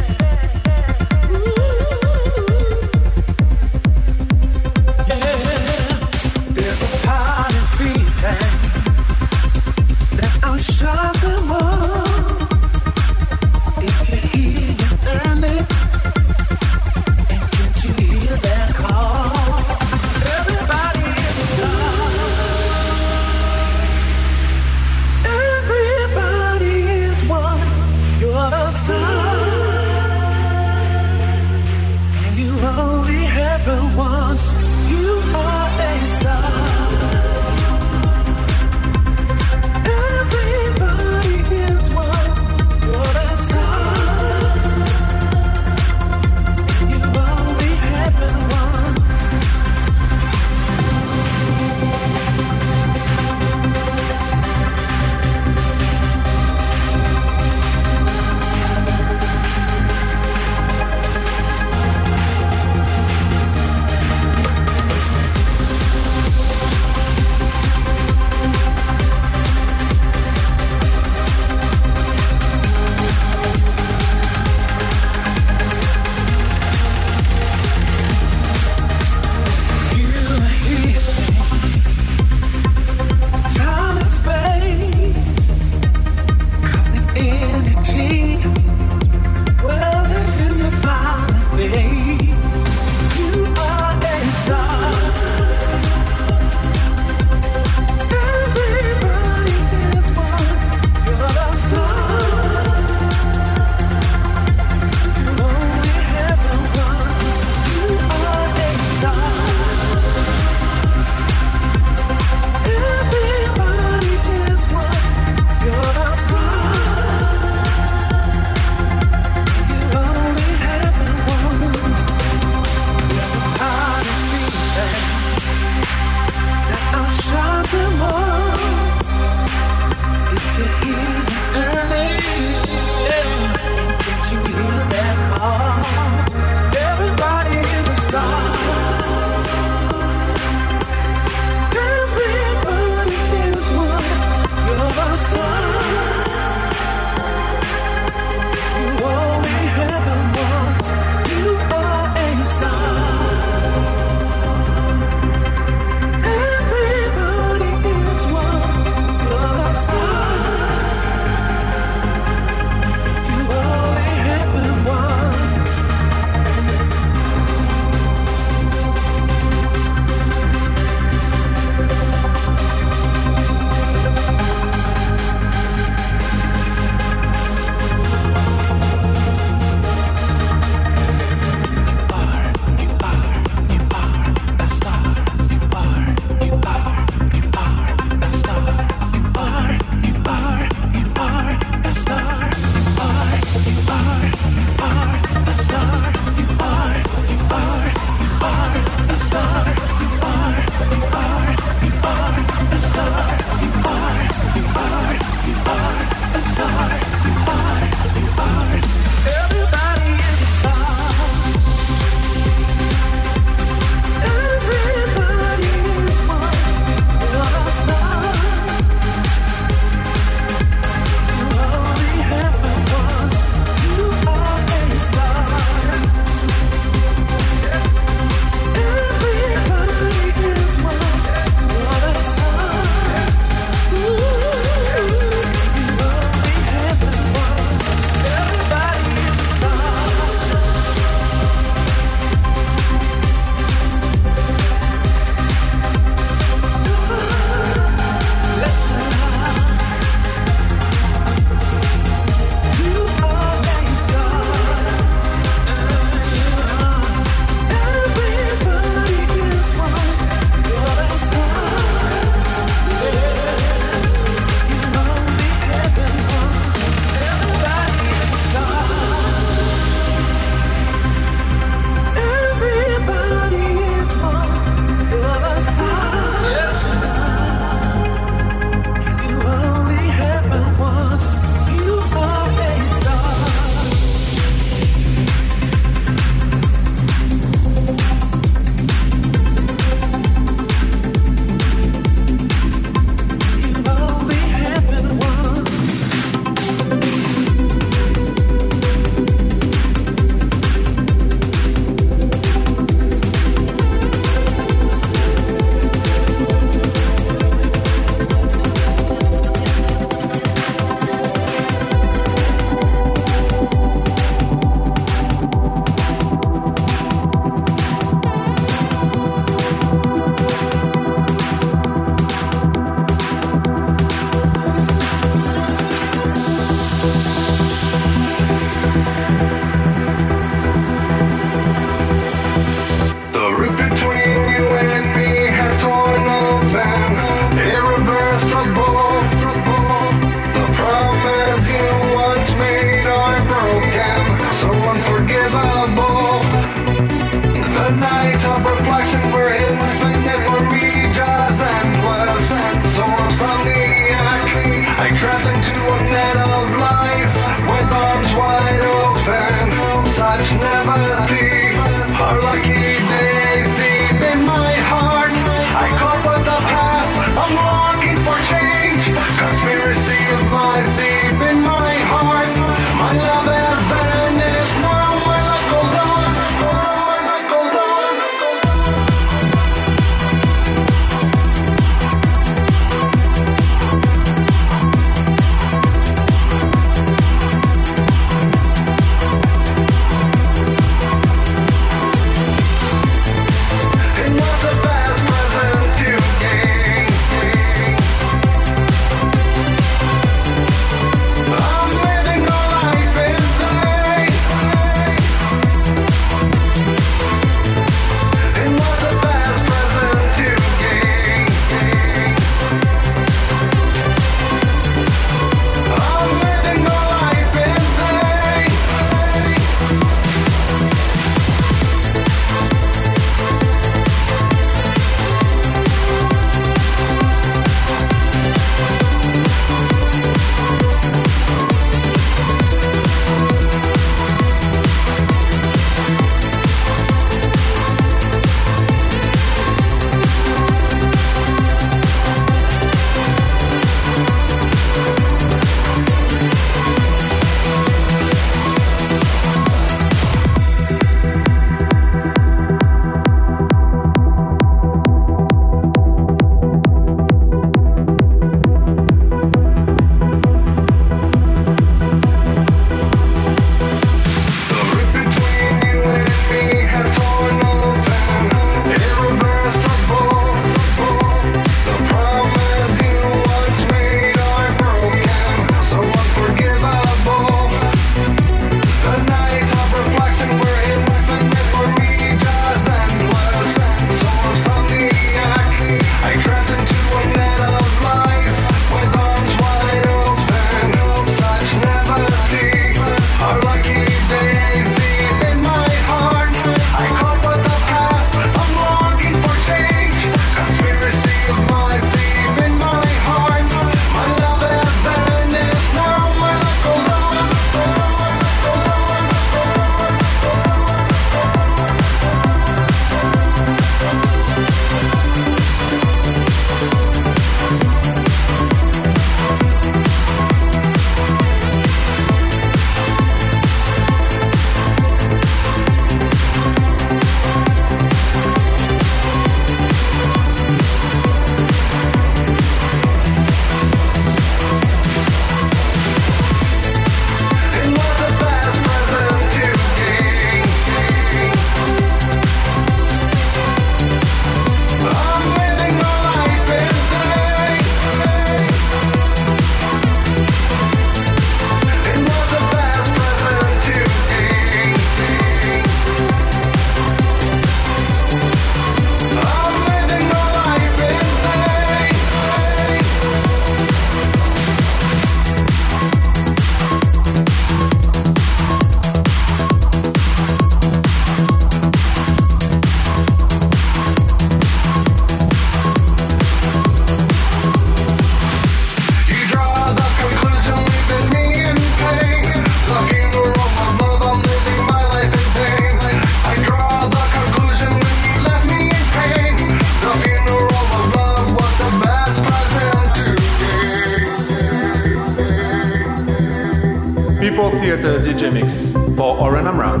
People Theater D J Mix for Oren Amram.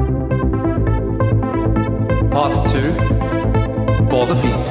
Part two, For the Feet.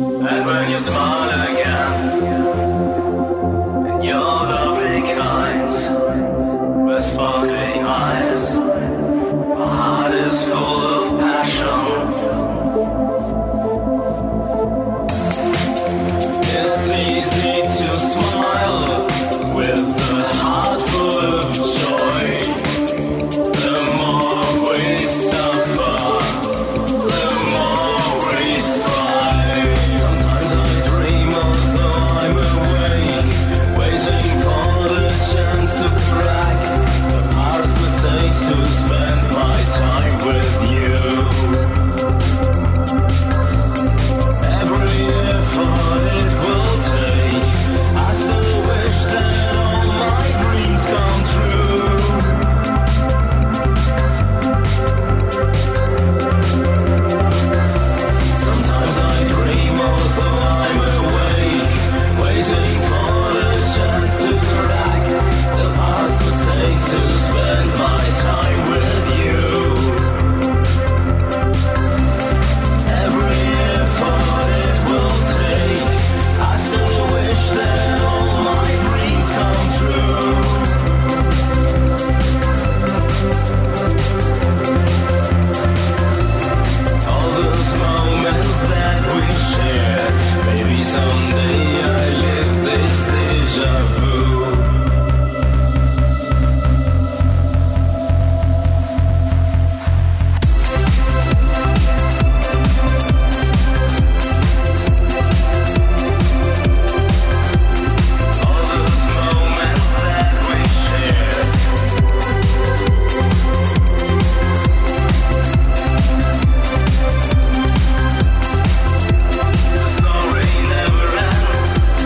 And when you smile again, and your lovely kind, with sparkling eyes, my heart is full of passion. It's easy to smile with a heart full of joy. The more we suffer, the more we strive. Sometimes I dream although I'm awake, waiting for the chance to correct the past mistakes, to spend my time with you. Every effort it will take, I still wish that all my dreams come true. Sometimes I dream although I'm awake, waiting for the chance to correct the past mistakes, to spend my time with you. Every effort it will take, I still wish that all my dreams come true. All those moments that we share, maybe someday I live this deja vu. All those moments that we share, the story never ends.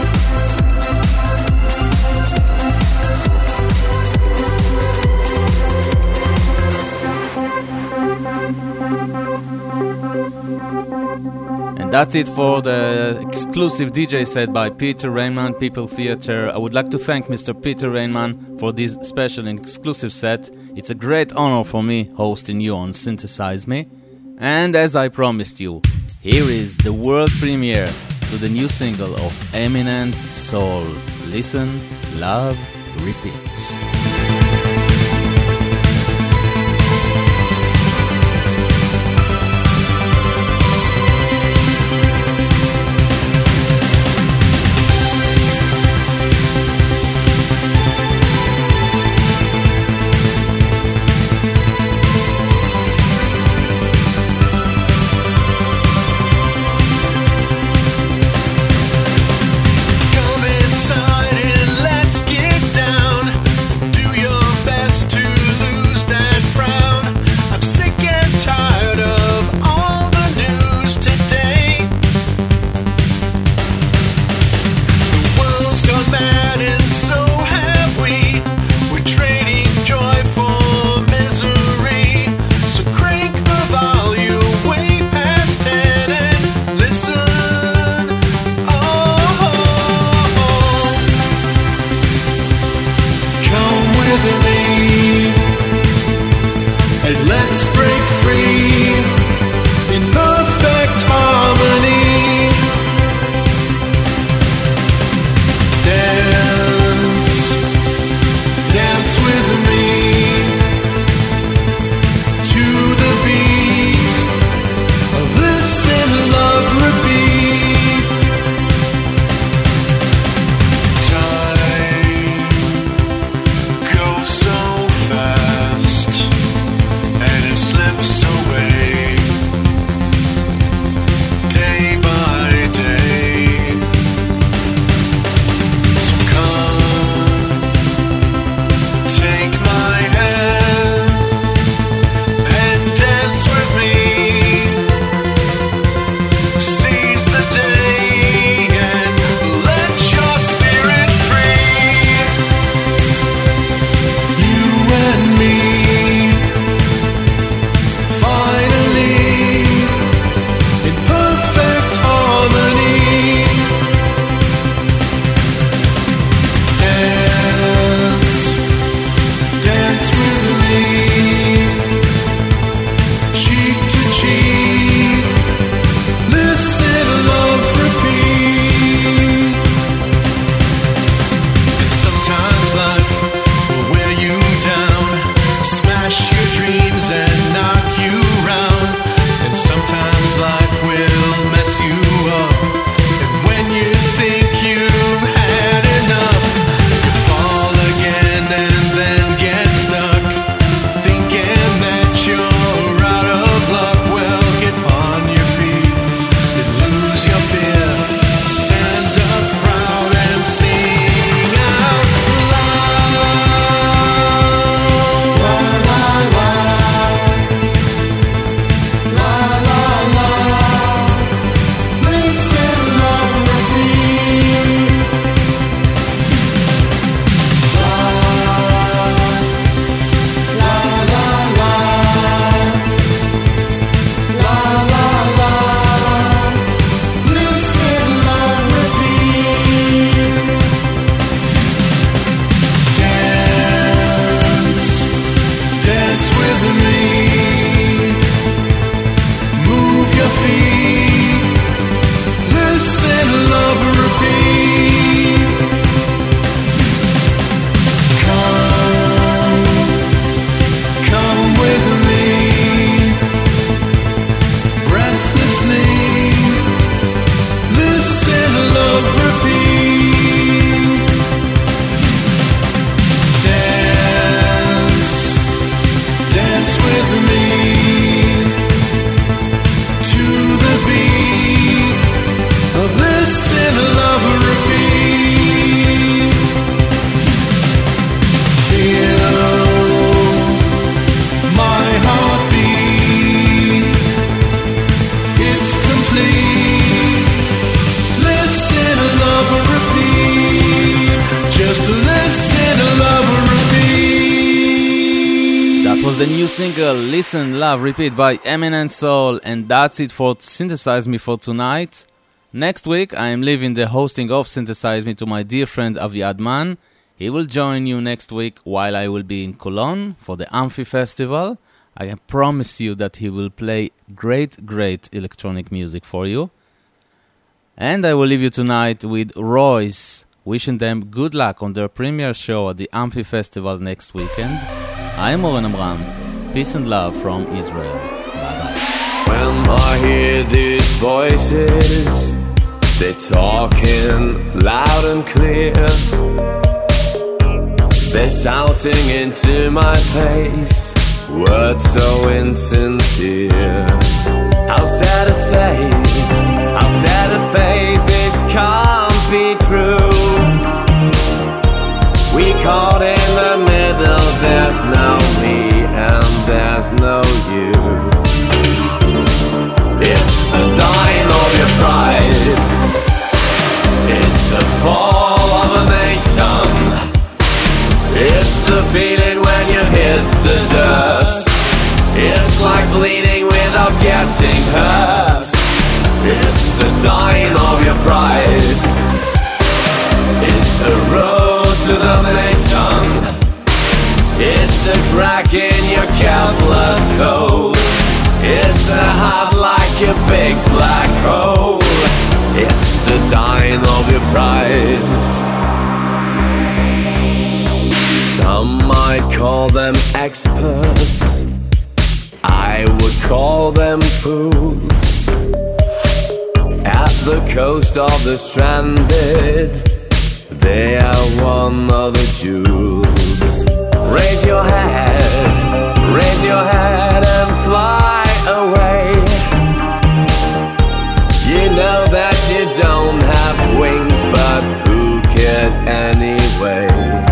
And that's it for the exclusive D J set by Peter Rainman, People Theater. I would like to thank Mister Peter Rainman for this special and exclusive set. It's a great honor for me hosting you on Synthesize Me. And as I promised you, here is the world premiere to the new single of Eminent Soul. Listen, love, repeat. Come inside and let's get down. Listen to love repeat. Feel my heartbeat. It's complete. Listen to love repeat. Just listen to love repeat. That was the new single, Listen, Love, Repeat by Eminent Soul, and that's it for Synthesize Me for tonight. Next week, I am leaving the hosting of Synthesize Me to my dear friend Aviad Man. He will join you next week while I will be in Cologne for the Amphi Festival. I can promise you that he will play great, great electronic music for you. And I will leave you tonight with Royce, wishing them good luck on their premiere show at the Amphi Festival next weekend. I'm Oren Amram. Peace and love from Israel. Bye-bye. When I hear these voices, they're talking loud and clear. They're shouting into my face, words so insincere. How sad a fate, how sad a fate, this can't be true. We caught in the middle, there's no me and there's no you. It's the dying of your pride. It's the fall of a nation. It's the feeling when you hit the dirt. It's like bleeding without getting hurt. It's the dying of your pride. It's a road to domination. It's a crack in your Kevlar soul. It's a heart like a big black hole. It's the dying of your pride. Some might call them experts, I would call them fools. At the coast of the stranded, they are one of the jewels. Raise your head, raise your head and fly away. You know that you don't have wings, but who cares anyway?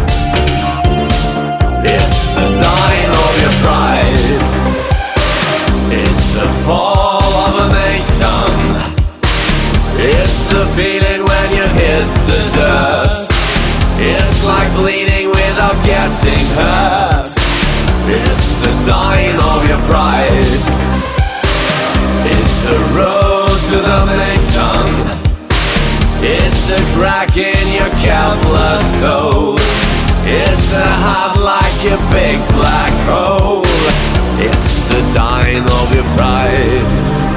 It's the dying of your pride. It's the fall of a nation. It's the feeling when you hit the dirt. It's like bleeding without getting hurt. It's the dying of your pride. It's a road to domination. It's a crack in your Kevlar soul. It's a heart like a big black hole. It's the dying of your pride.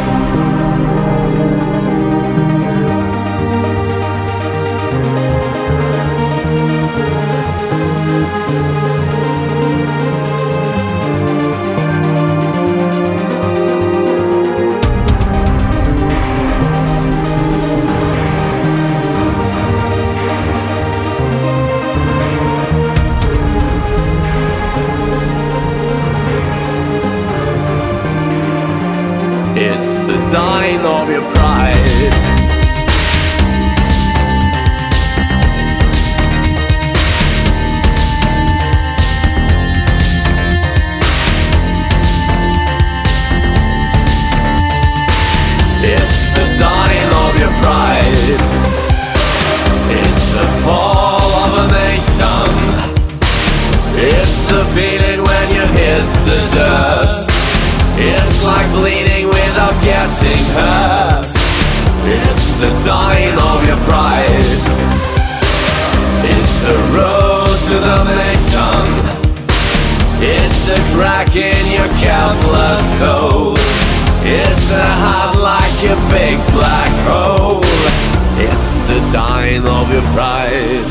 It's the dying of your pride. It's the dying of your pride. It's the fall of a nation. It's the feeling when you hit the dirt. It's like bleeding without getting hurt. It's the dying of your pride. It's a road to domination. It's a crack in your Kevlar soul. It's a heart like a big black hole. It's the dying of your pride.